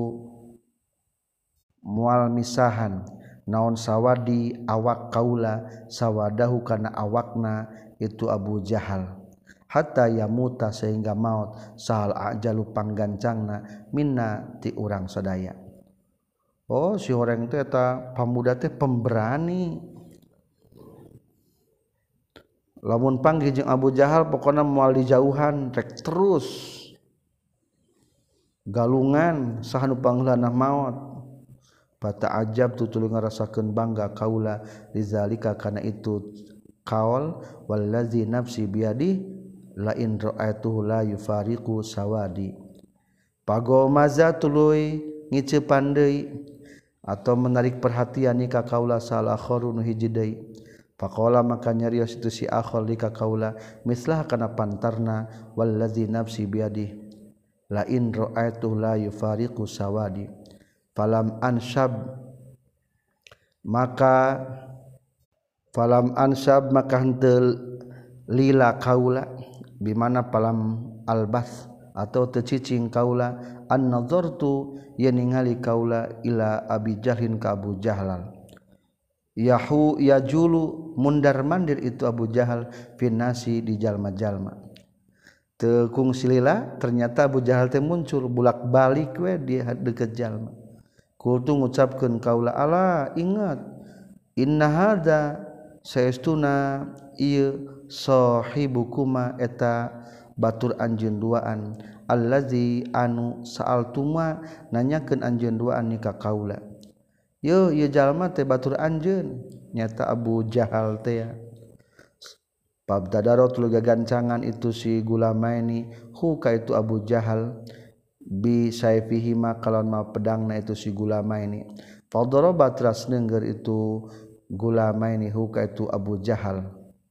mual misahan naon sawadi awak kaula sawadahu kana awakna itu Abu Jahal hatta yamuta sehingga maut sahal ajalu panggancangna minna ti urang sadaya. Oh si orang teh eta pamuda teh pemberani. Lamun panggih jeung Abu Jahal pokona moal dijauhan rek terus galungan saha nu pangheulanna maut. Bata ajab tu tuluy ngarasakeun bangga kaula lizalika kana itu kaul wallazi nafsi biadi la in ra'aituhu la yufariqu sawadi pagomaza tuluy ngiceupan deui atau menarik perhatian ni ka kaula salah kharun hiji deui faqala maka nyarios itu si akhol li ka kaula mislah kana pantarna wallazi nafsi biadi la in ra'aituhu la yufariqu sawadi falam anshab maka falam anshab maka henteu lila kaula bimana palam albas atau tecicing kaula an nazartu ya ningali kaula ila Abi Jahlin ka Abu Jahal yahu yajulu mundar mandir itu Abu Jahal finasi di jalma-jalma teu kungsi lila ternyata Abu Jahal teh muncul bulak-balik we di deukeut jalma kultu ngucapkeun kaula ala ingat inna hadza saestuna ieu sahibukuma eta batur anjeun duaan allazi anu sa'altuma nanyakeun anjeun duaan ni ka kaula Yo ieu jalma teh batur anjeun nyata Abu Jahal teh Pabdadaro tuluy gagancangan itu si Gulamaini hu ka itu Abu Jahal bi saifihi ma kalon ma pedangna itu si Gulamaini fadoroba teras nengger itu Gulamaini hu ka itu Abu Jahal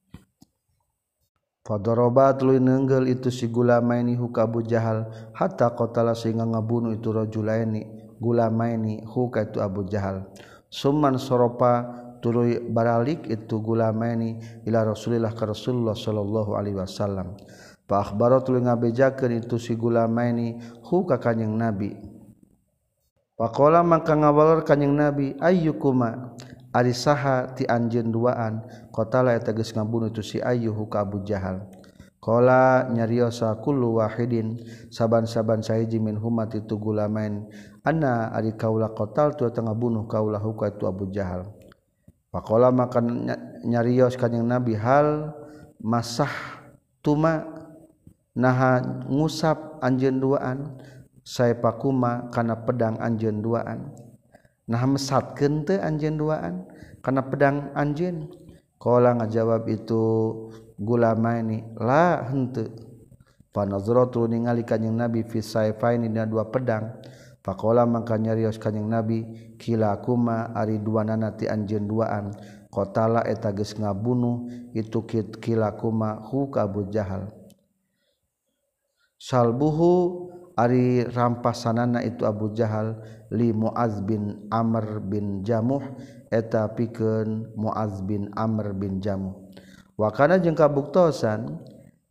fadoroba tuluy nenggel itu si Gulamaini hu ka Abu Jahal hatta qatala sehingga ngabunuh itu rajulaini Gulamaini hu ka itu Abu Jahal summan soropa tuluy baralik itu Gulamaini ila Rasulillah ka Rasulullah sallallahu alaihi wasallam fa akhbara tuluy ngabejakeun itu si Gulamaini hu ka kanjing Nabi faqala maka ngawalor kanjing Nabi ayyukuma ari saha ti anjeun duaan qatala eta geus ngabunuh itu si ayyuhu ka Abu Jahal qala nyariosa kullu wahidin saban-saban sahiji min humat itu Gulamain anna ari kaula qatal tu eta ngabunuh kaula hu ka itu Abu Jahal faqala maka nyarios kanjing Nabi hal masah tuma naha ngusap anjeun duaan saepakuma kana pedang anjeun duaan naha mesatkeun teu anjeun duaan kana pedang anjeun qala ngajawab itu Gulamaini la henteu fa nazratu ningali kanjing Nabi fi saifaini dina dua pedang faqala maka nyarios kanjing Nabi kilakuma ari duanana ti anjeun duaan qatala eta geus ngabunuh itu kilakuma hu ka Abu Jahal salbuhu ari rampasanana itu Abu Jahal li Muaz bin Amr bin Jamuh eta pikeun Muaz bin Amr bin Jamuh wa kana jeung kabuktosan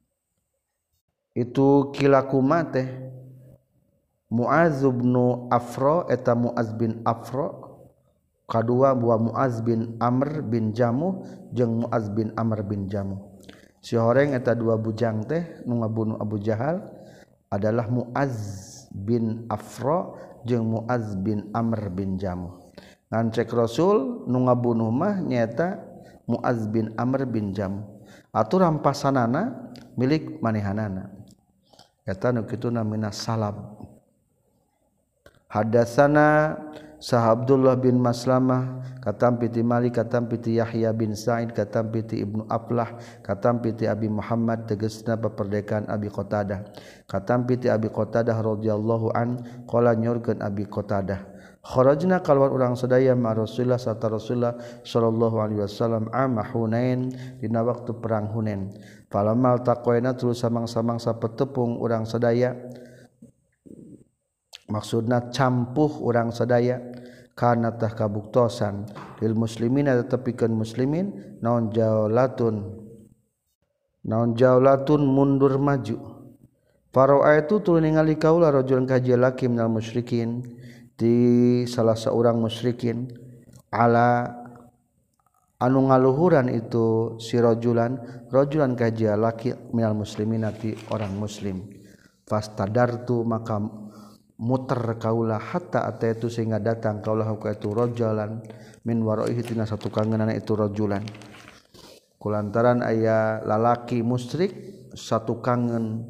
itu kilakuma teh Muaz bin Afra eta Muaz bin Afra kadua buah Muaz bin Amr bin Jamuh jeung Muaz bin Amr bin Jamuh si horeng eta dua bujang teh nu ngabunuh Abu Jahal adalah Muaz bin Afra jeung Muaz bin Amr bin Jamuh ngan cek Rasul nu ngabunuh mah nyaeta Muaz bin Amr bin Jamuh atuh rampasanana milik manehanana eta nu kituna minas salab. Hadatsana Sah Abdullah bin Maslamah katam piti Malik katam piti Yahya bin Sa'id katam piti Ibnu Aflah katam piti Abi Muhammad tegasna paperdekaan Abi Qatadah katam piti Abi Qatadah radhiyallahu an qala nyorkeun Abi Qatadah kharajna kalwar urang sadaya ma Rasulullah sarta Rasulullah sallallahu alaihi wasallam ama Hunain dina waktu perang Hunain falamal taqaina terus samang-samang sapetepung urang sadaya maksudna campuh urang sadaya kana tah kabuktosan lil muslimina tetepikeun muslimin naon jaulatun naon jaulatun mundur maju fara'a itu tuluy ningali kaula rajulun kaji laki minal musyrikin di salah seorang musyrikin ala anu ngaluhuran itu si rajulan rajulan kaji laki minal muslimina ti orang muslim fastadartu maka muter kaula hatta ataitu sehingga datang kaula ka itu rajulan min waraihi tina satu kangeunana itu rajulan kulantaran aya lalaki musyrik satu kangen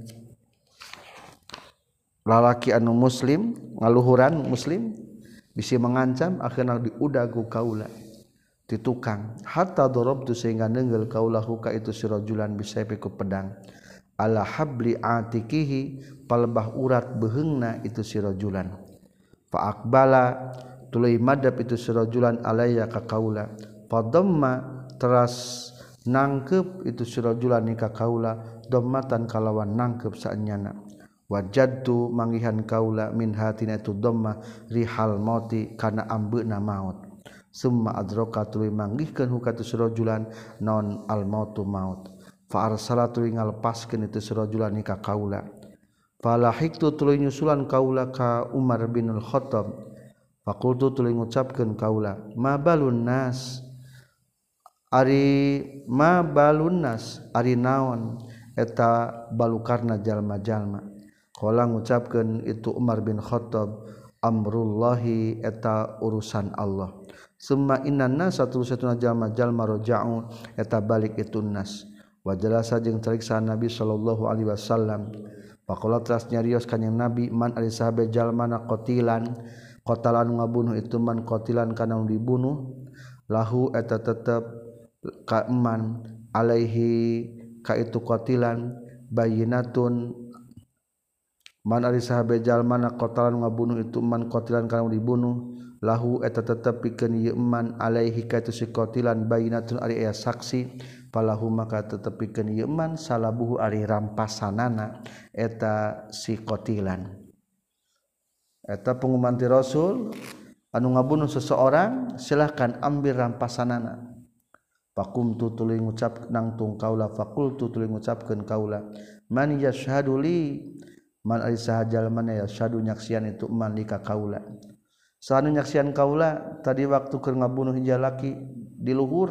lalaki anu muslim ngaluhuran muslim bisi mengancam akhirna diudag ku kaula ti tukang hatta darabtu sehingga neungeul kaula ka itu si rajulan bisa ku pedang ala habli atikihi palebah urat beheungna itu si rajulan fa aqbala tuluy madab itu si rajulan alayya ka kaula fadamma teras nangkep itu si rajulan ni ka kaula dhammatan kalawan nangkep saenyana wajadtu manggihan kaula min hatina itu dhamma rihal mauti kana ambeuna maut summa adraka tuluy manggihkeun hukatu si rajulan non al mautu maut fa arsalatu ngalepaskeun itu sirajulan ni ka kaula falahiktu tuluy nyusulan kaula ka Umar bin Al-Khattab faqultu tuluy ngucapkeun kaula ma balun nas ari ma balun nas ari naon eta balukarna jalma-jalma qala ngucapkeun itu Umar bin Khattab amrullahi eta urusan Allah summa innan nas satusatuna jalma-jalma raja'u eta balik itu nas wajalasa jeung cariksa Nabi sallallahu alaihi wasallam faqala teras nyarios kanjing Nabi man ari sahabe jalmana qatilan qatalan ngabunuh itu man qatilan kana dibunuh lahu eta tetep ka eman alaihi ka itu qatilan bayinatun man ari sahabe jalmana qatalan ngabunuh itu man qatilan kana dibunuh lahu eta tetep pikeun ieu man alaihi ka itu si qatilan bayinatun ari aya saksi falahu maka tetep pikeun ieu man salabuhu ari rampasanana eta si qatilan eta pengumuman ti Rasul anu ngabunuh seseorang silahkan ambil rampasanana faqumtu tuluy ngucap nangtung kaula faqultu tuluy ngucapkeun kaula man yashhadu li man ari saha jalmana yashhadu nyaksian itu man li ka kaula sanu nyaksian kaula tadi waktu keur ngabunuh hiji laki di luhur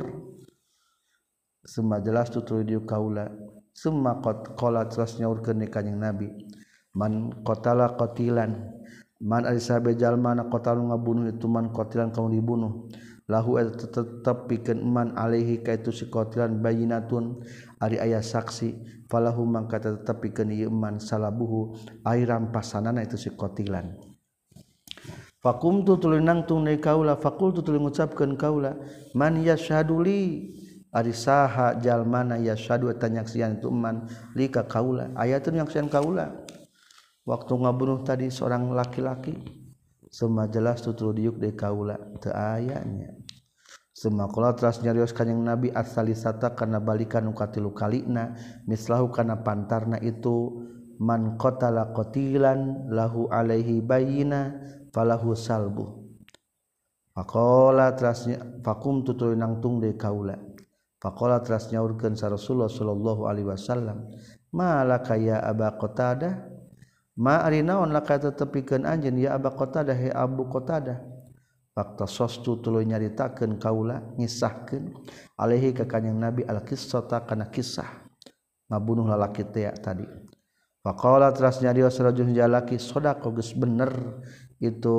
summa jelas tu tuluy dieu kaula summa qad qala terus nyaurkeun ni kanjing nabi man qatala qatilan man ari sahabe jalmana qatalu ngabunuh itu man qatilan kamu dibunuh lahu tetep pikeun man alaihi ka itu si qatilan bayinatun ari aya saksi falahu mangka tetep pikeun ieu man salabuhu ai rampasanana itu si qatilan faqumtu tuluy nangtung deui kaula faqultu tuluy ngucapkeun kaula man yashhadu li ari saha jalmana yashhadu eta nyaksian itu man li ka kaula aya teu nyaksian kaula waktu ngabunuh tadi seorang laki-laki semua jelas tutur diuk deui kaula teu aya nya semua qala teras nyarios kanjing nabi as-salisata kana balikan nu katilu kalina mislahu kana pantarna itu man qatala qatilan lahu alaihi bayyina falahu salbu faqala teras faqum tutur nangtung deui kaula faqala teras nyaurkeun sa Rasulullah sallallahu alaihi wasallam malaka ya aba qatadah ma ari naon laka tetepikeun anjeun ya aba qatadah he abu qatadah fakta sostu tuluy nyaritakeun kaula ngisahkeun alaihi ka kanjing nabi al qissata kana kisah ngabunuh lalaki teh tadi faqala teras nyarios rajul jalaki sadaqa geus bener itu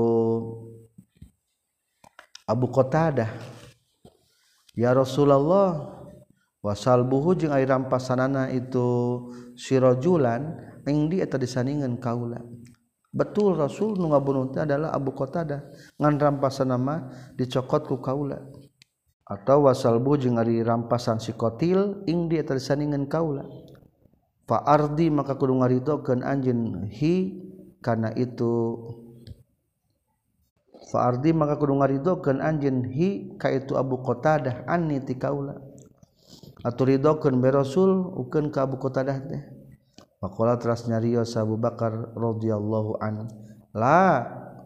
Abu Qatadah ya Rasulullah wasalbuhu jeung ari rampasanana itu sirajulan ing di eta disandingan kaula betul Rasul nu ngabunuh teh adalah Abu Qatadah ngan rampasanna mah dicokot ku kaula atau wasalbu jeung ari rampasan si qatil ing di eta disandingan kaula fa ardi maka kudu ngaridokeun anjeun hi kana itu fa ardi maka kudu ngaridokeun anjeun hi ka itu Abu Qatadah anni ti kaula aturidokeun be Rasul ukeun ka Abu Qatadah teh faqala teras nyarios Abu Bakar radhiyallahu an la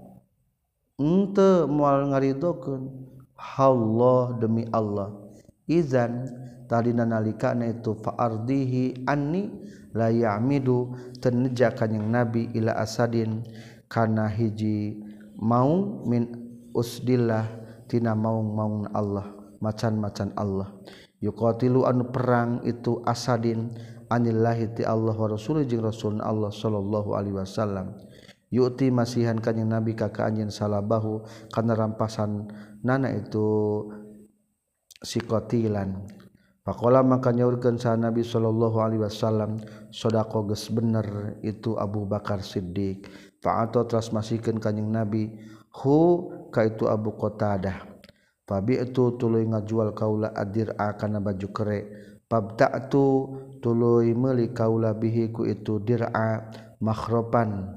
henteu moal ngaridokeun Allah demi Allah izan tadina nalikana itu fa ardihi anni la ya'midu teneja kanjing nabi ila asadin kana hiji maung min usdillah tina maung-maung Allah macan-macan Allah yuqatilu anu perang itu asadin anillahi ti Allah wa rasul jeung rasul Allah sallallahu alaihi wasallam yu'ti masihan kanjing nabi ka ka anjeun salabahu kana rampasan nana itu si qatilan faqala maka nyaurkeun sa nabi sallallahu alaihi wasallam sadaqa geus bener itu Abu Bakar Siddiq fa'ata teras masihkeun kanjing nabi hu ka itu Abu Qatadah fabi'tu tuluy ngajual kaula adir'a kana baju kere pabta'tu tuluy meuli kaula bihi ku itu dir'a makhropan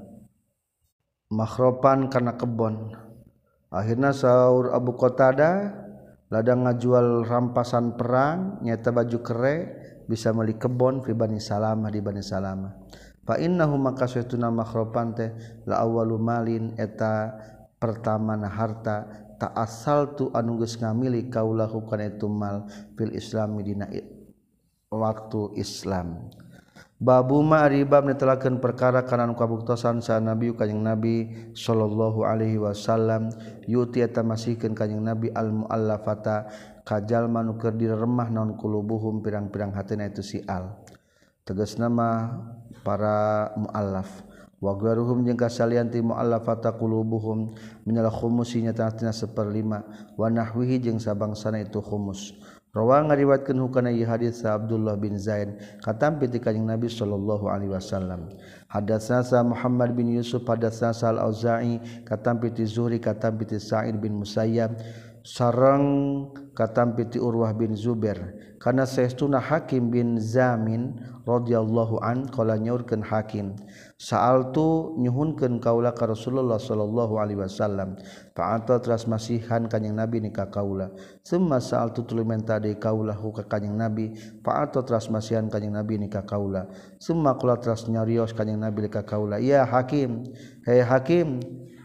makhropan kana kebon akhirna saur Abu Qatadah ladang ngajual rampasan perang nyata baju kere bisa meuli kebon fi Bani Salamah di Bani Salamah fa innahu maka saytuna makhropan teh la awwalu malin eta pertamana harta ta asal tu anu geus ngamili kaulahu kana itu mal fil islami dina waktu Islam babu ma ribab netelakeun perkara kana anu kabuktosan sa nabi kanjing nabi sallallahu alaihi wasallam yuti eta masihkeun kanjing nabi al muallafata kajalma nu keur diremah naon kulubuhum pirang-pirang hateuna itu si al tegasna mah para muallaf wa gharuhum jeung kasalian ti muallafata qulubuhum minal khumusi nyata-nyata seperlima wa nahwihi jeung sabangsana itu khumus rawa ngariwayatkeun hukana ieu hadis sa Abdullah bin Zaid katampi ti kanjing Nabi sallallahu alaihi wasallam hadatsana sa Muhammad bin Yusuf hadatsana sa Al-Auza'i katampi ti Zuhri katampi ti Sa'id bin Musayyab sareng katampi ti Urwah bin Zubair kana saestuna Hakim bin Zamin radhiyallahu an qala nyaurkeun Hakim sa'altu nyuhunkeun kaula ka Rasulullah sallallahu alaihi wasallam fa'ata teras masihan kanjing Nabi ni ka kaula summa sa'altu tuluy menta deui kaula hu ka kanjing Nabi fa'ata teras masihan kanjing Nabi ni ka kaula summa qala teras nyarios kanjing Nabi ka kaula ya Hakim hei Hakim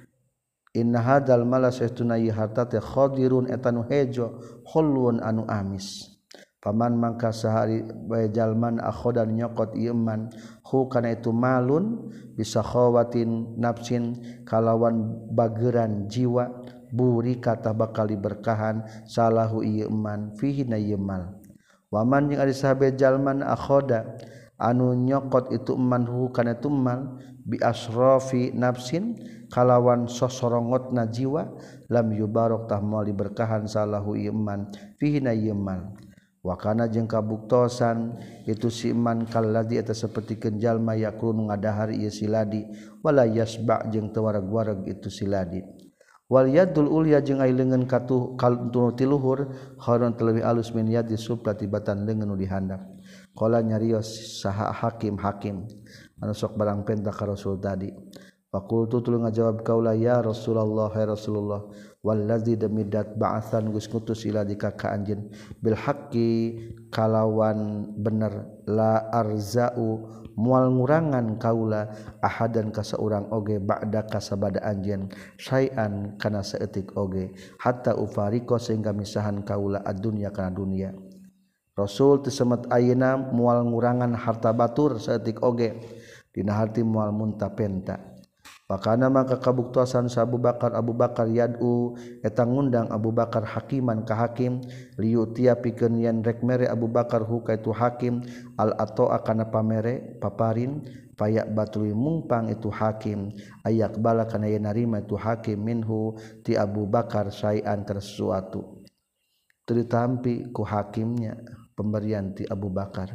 inna hadzal mala saestuna ieu harta teh khadirun eta nu hejo khulun anu amis paman mangka sahari bae jalman akhodan nyokot ieu man hu kana itu malun bisa khawatin nafsin kalawan bageran jiwa buri kata bakal diberkahan salahu ieu man fihi na ieu mal waman jeung ari sahabe jalman akhoda anu nyokot itu man hu kana itu mal bi asrafi nafsin kalawan sosorongotna jiwa lam yubarok tah moal diberkahan salahu iman fihi na iman wa kana jeung kabuktosan itu si iman kalladzi eta sapertikeun jalma yakrun ngadahar ieu siladi wala yasba jeung teu wareg-wareg itu siladi wal yadul ulya jeung ai leungeun katuh kaltu tiluhur khairun terlebih alus min yadi supla tibatan leungeun nu dihandap qala nyarios saha Hakim Hakim anu sok barang penta ka Rasul tadi faqultu tuluy ngajawab kaula ya Rasulullah ya Rasulullah wallazi damidat ba'atsan geus ngutus ila dika ka anjeun bil haqqi kalawan bener la arzau moal ngurangan kaula ahadan ka saurang oge ba'da ka sabada anjeun syai'an kana saeutik oge hatta ufariqo sehingga misahan kaula ad-dunya kana dunia Rasul teu semet ayeuna moal ngurangan harta batur saeutik oge dina harti moal munta penta Pakana maka kabuktosan sa Abu Bakar Abu Bakar yad'u eta ngundang Abu Bakar hakiman ka hakim liutia pikeun yen rek mere Abu Bakar hu ka itu hakim al ata'a kana pamere paparin payak batui mungpang itu hakim ayak bala kana yen narima itu hakim minhu ti Abu Bakar syai'an kana sesuatu teu ditampi ku hakimnya pemberian ti Abu Bakar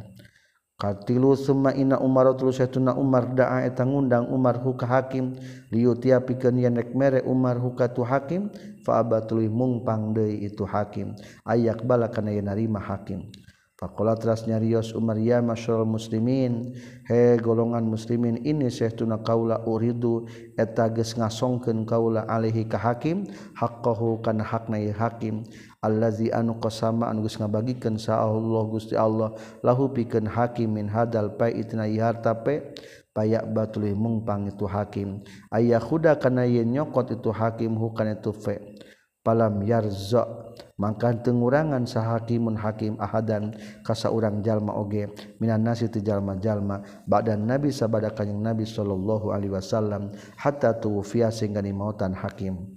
Katilu summa inna Umar tulus satuna Umar da'a eta ngundang Umar hu ka hakim liutia pikeun yen rek mere Umar hu ka tu hakim fa abatului mungpang deui itu hakim ayak bala kana yen narima hakim faqala teras nyarios Umar ya masyarul muslimin he golongan muslimin ini sahtuna kaula uridu eta geus ngasongkeun kaula alaihi ka hakim haqqahu kana hakna hakim allazi anu qasama anu geus ngabagikeun sa Allah Gusti Allah lahu pikeun hakim min hadal pai itna harta pe payak batulih mungpang itu hakim aya khuda kana yen nyokot itu hakim hu kana itu fe palam yarza mangka teu ngurangan sahakimun hakim ahadan ka saurang jalma oge minan nasi ti jalma-jalma ba'dan nabi sabada kanjing nabi sallallahu alaihi wasallam hatta tuwfiya sehingga dimautan hakim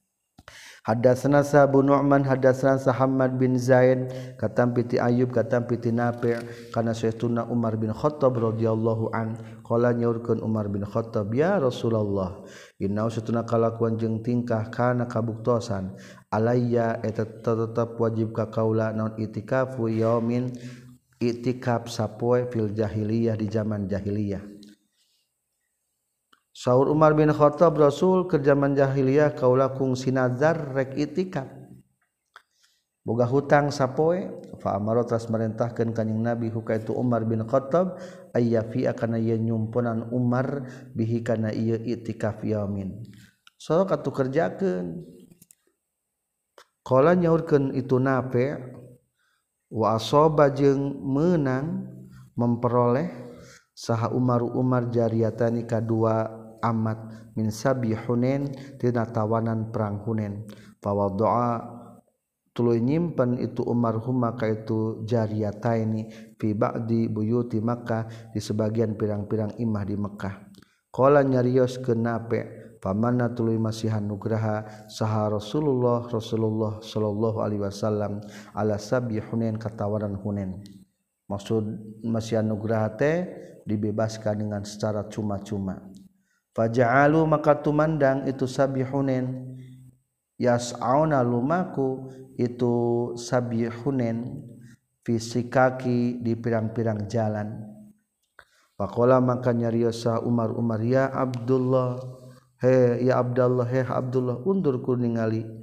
Hadatsana Abu Nu'man hadatsana Muhammad bin Zaid katampi ti Ayyub katampi ti Nafi' kana saestuna Umar bin Khattab radhiyallahu an qala nyaurkeun Umar bin Khattab ya Rasulullah inna satuna kalakuan jeung tingkah kana kabuktosan alayya eta tetep wajib ka kaula naon itikafu yaumin itikaf sapoe fil jahiliyah di zaman jahiliyah Saur Umar bin Khattab Rasul ke zaman jahiliyah kaula kungsi nazar rek itikaf boga hutang sapoe fa amara tas merintahkeun kanjing Nabi hukaitu Umar bin Khattab ayyafi akana ye nyumpunan Umar bihi kana ieu itikaf yaumin sok atuh kerjakeun qala nyaurkeun itu Nafi' wa asaba jeung meunang memperoleh saha Umar Umar jariyatani kadua amat min sabi Hunain tina tawanan perang Hunain fawadha'a tuluy nyimpen itu Umar huma ka itu jariyataini fi ba'di buyuti Makkah di sebagian pirang-pirang imah di Mekkah qala nyarios ke Nafi' pamanna tuluy masihan nugraha saha Rasulullah Rasulullah sallallahu alaihi wasallam ala sabi Hunain ka tawanan Hunain maksud masihan nugraha teh dibebaskan dengan secara cuma-cuma faja'alu maka tumandang itu sabi Hunain yas'auna lumaku itu sabi Hunain fisikaki di pirang-pirang jalan faqala maka nyarios Umar Umar ya Abdullah he ya Abdullah he Abdullah undur ku ningali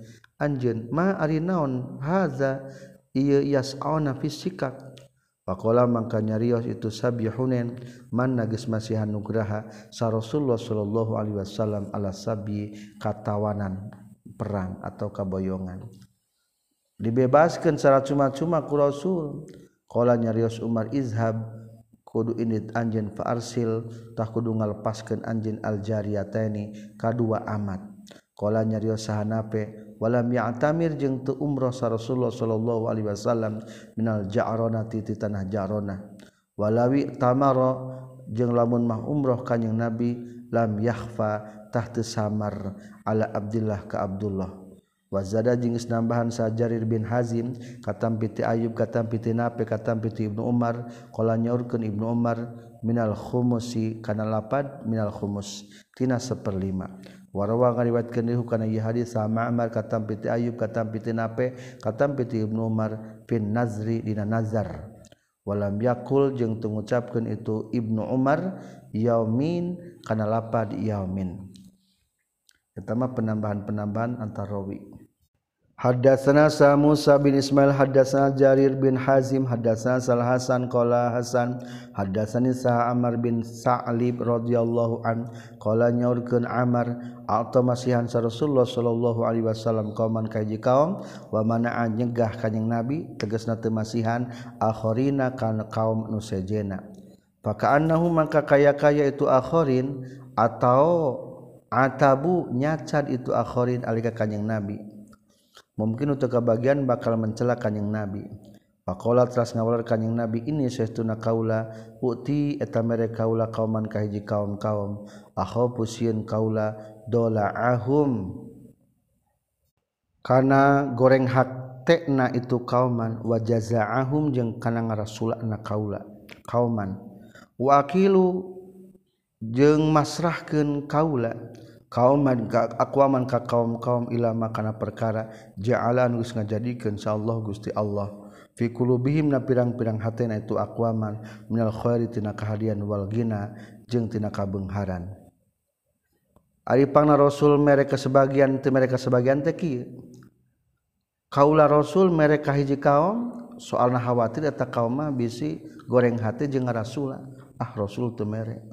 anjeun ma ari naon haza ieu yas'auna fisikak faqala mangka nyarios itu sabihunen man geus masihan nugraha sa Rasulullah sallallahu alaihi wasallam ala sabi katawanan perang atau kaboyongan dibebaskeun secara cuma-cuma ku Rasul qala nyarios Umar izhab kudu init anjeun fa arsil tah kudu ngalepaskeun anjeun al jariyataini kadua amat qala nyarios sahanape walam ya'tamir jeung teu umrah sa Rasulullah sallallahu alaihi wasallam minal ja'ronati ti tanah ja'ronah walawi tamara jeung lamun mah umrah kanjing Nabi lam yakhfa tah teu samar ala Abdullah ka Abdullah wazada jeung geus nambahan sa Jarir bin Hazim katampi ti Ayub katampi ti Nafi katampi ti Ibnu Umar qala nyaurkeun Ibnu Umar minal khumusi kana lapad minal khumus tina saperlima warawa ngariwayatkeun deui kana ieu hadis sa Ma'mar katampi ti Ayub katampi ti Nafi katampi ti Ibnu Umar fin nazri dina nazar walam yakul jeung teu ngucapkeun itu Ibnu Umar yaumin kana lapad yaumin eta mah penambahan-penambahan antar rawi Haddatsana sa Musa bin Ismail haddatsana Jarir bin Hazim haddatsana Sal Hasan qala Hasan haddatsani sa Amr bin Sa'lib radhiyallahu an qala nyaurkeun Amr alta masihan sa Rasulullah sallallahu alaihi wasallam kauman kaji kaum wa mana'a nyegah kanjing Nabi tegasna teu masihan akhirina kana kaum nu sejena fakaannahu maka kaya-kaya itu akhirin atau atabu nyacad itu akhirin alika kanjing Nabi mungkin untuk kebagian bakal mencela kanjing Nabi faqala teras ngawalar kanjing Nabi ini saestuna kaula uti eta mere kaula kauman ka hiji kaum-kaum akhafu sieun kaula dola'ahum kana goreng hakna itu kauman wa jazaa'ahum jeung kana ngarasulana kaula kauman wa aqilu jeung masrahkeun kaula kauman ka aqwaman ka kaum-kaum ila makana perkara ja'ala geus ngajadikeun insyaallah Gusti Allah fi qulubihim na pirang-pirang hatena itu aqwaman minal khairi tina kahadian wal ghina jeung tina kabeungharan ari pangna Rasul mereka sebagian teu mereka sebagian teh kieu kaula Rasul mereka hiji kaum soalna khawatir eta kaum mah bisi goreng hati jeung Rasul ah Rasul teu mere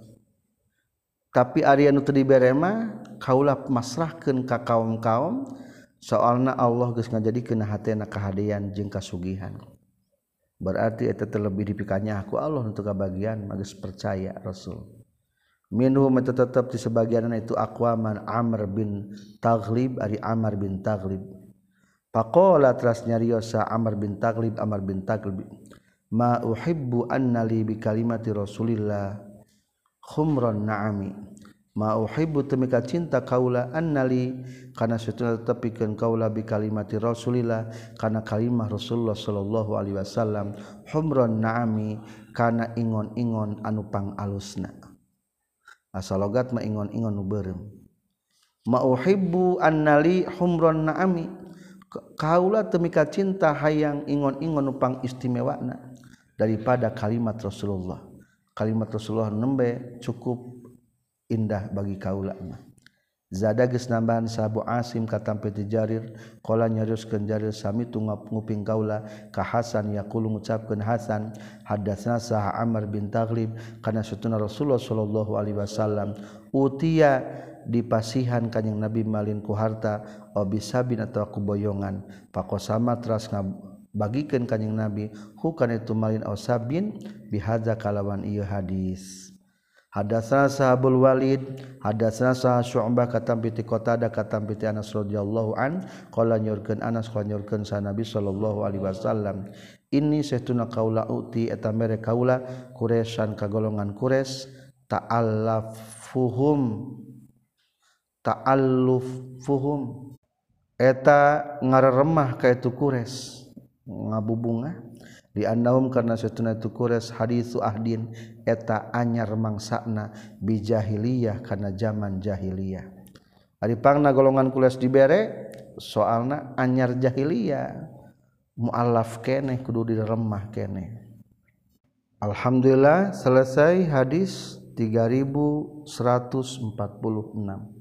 tapi ari anu teu dibere mah kaula masrahkeun ka kaum-kaum soalna Allah geus ngajadikeun hatena kahadian jeung kasugihan berarti eta terlebih dipikanya ku Allah untuk kabagian mah geus percaya Rasul minhum eta tetep di sebagianna itu aqwaman Amr bin Taghlib ari Amr bin Taghlib faqala teras nyarios sa Amr bin Taghlib Amr bin Taghlib ma uhibbu anna li bi kalimati Rasulillah khumran na'ami ma uhibbu temika cinta kaula annali kana satuna tepikeun kaula bi kalimati Rasulillah kana kalimah Rasulullah sallallahu alaihi wasallam humran na'ami kana ingon-ingon anu pangalusna asal logat mah ingon-ingon nu beureum ma uhibbu annali humran na'ami kaula temika cinta hayang ingon-ingon nu pangistimewana daripada kalimat Rasulullah kalimat Rasulullah nembe cukup indah bagi kaula mah zada geus nambahan sa Abu Asim katampi ti Jarir qala nyarioskeun Jarir sami tu nguping kaula ka Hasan yaqulu ngucapkeun Hasan hadatsna sa Amr bin Taghlib kana satuna Rasulullah sallallahu alaihi wasallam utia dipasihan kanjing Nabi malin ku harta obisabin atau ku boyongan faqosama teras bagikeun kanjing Nabi hukana itu malin ausabin bihadza kalawan ieu hadis hadatsana sahabul Walid hadatsana sa Syu'bah katampi ti Qatadah katampi ti Anas radhiyallahu an qala nyurkeun Anas qala nyurkeun sa Nabi sallallahu alaihi wasallam inni sahtuna qaula uti eta mere kaula Quraisyan ka golongan Quraisy ta'allafuhum ta'allufuhum eta ngareremah ka itu Quraisy ngabubungah di annahum karena satuna itu Quraisy hadisu ahdin eta anyar mangsana bi jahiliyah kana zaman jahiliyah ari pangna golongan Quraisy dibere soalna anyar jahiliyah muallaf keneh kudu diremah keneh alhamdulillah selesai hadis tiga ribu seratus empat puluh enam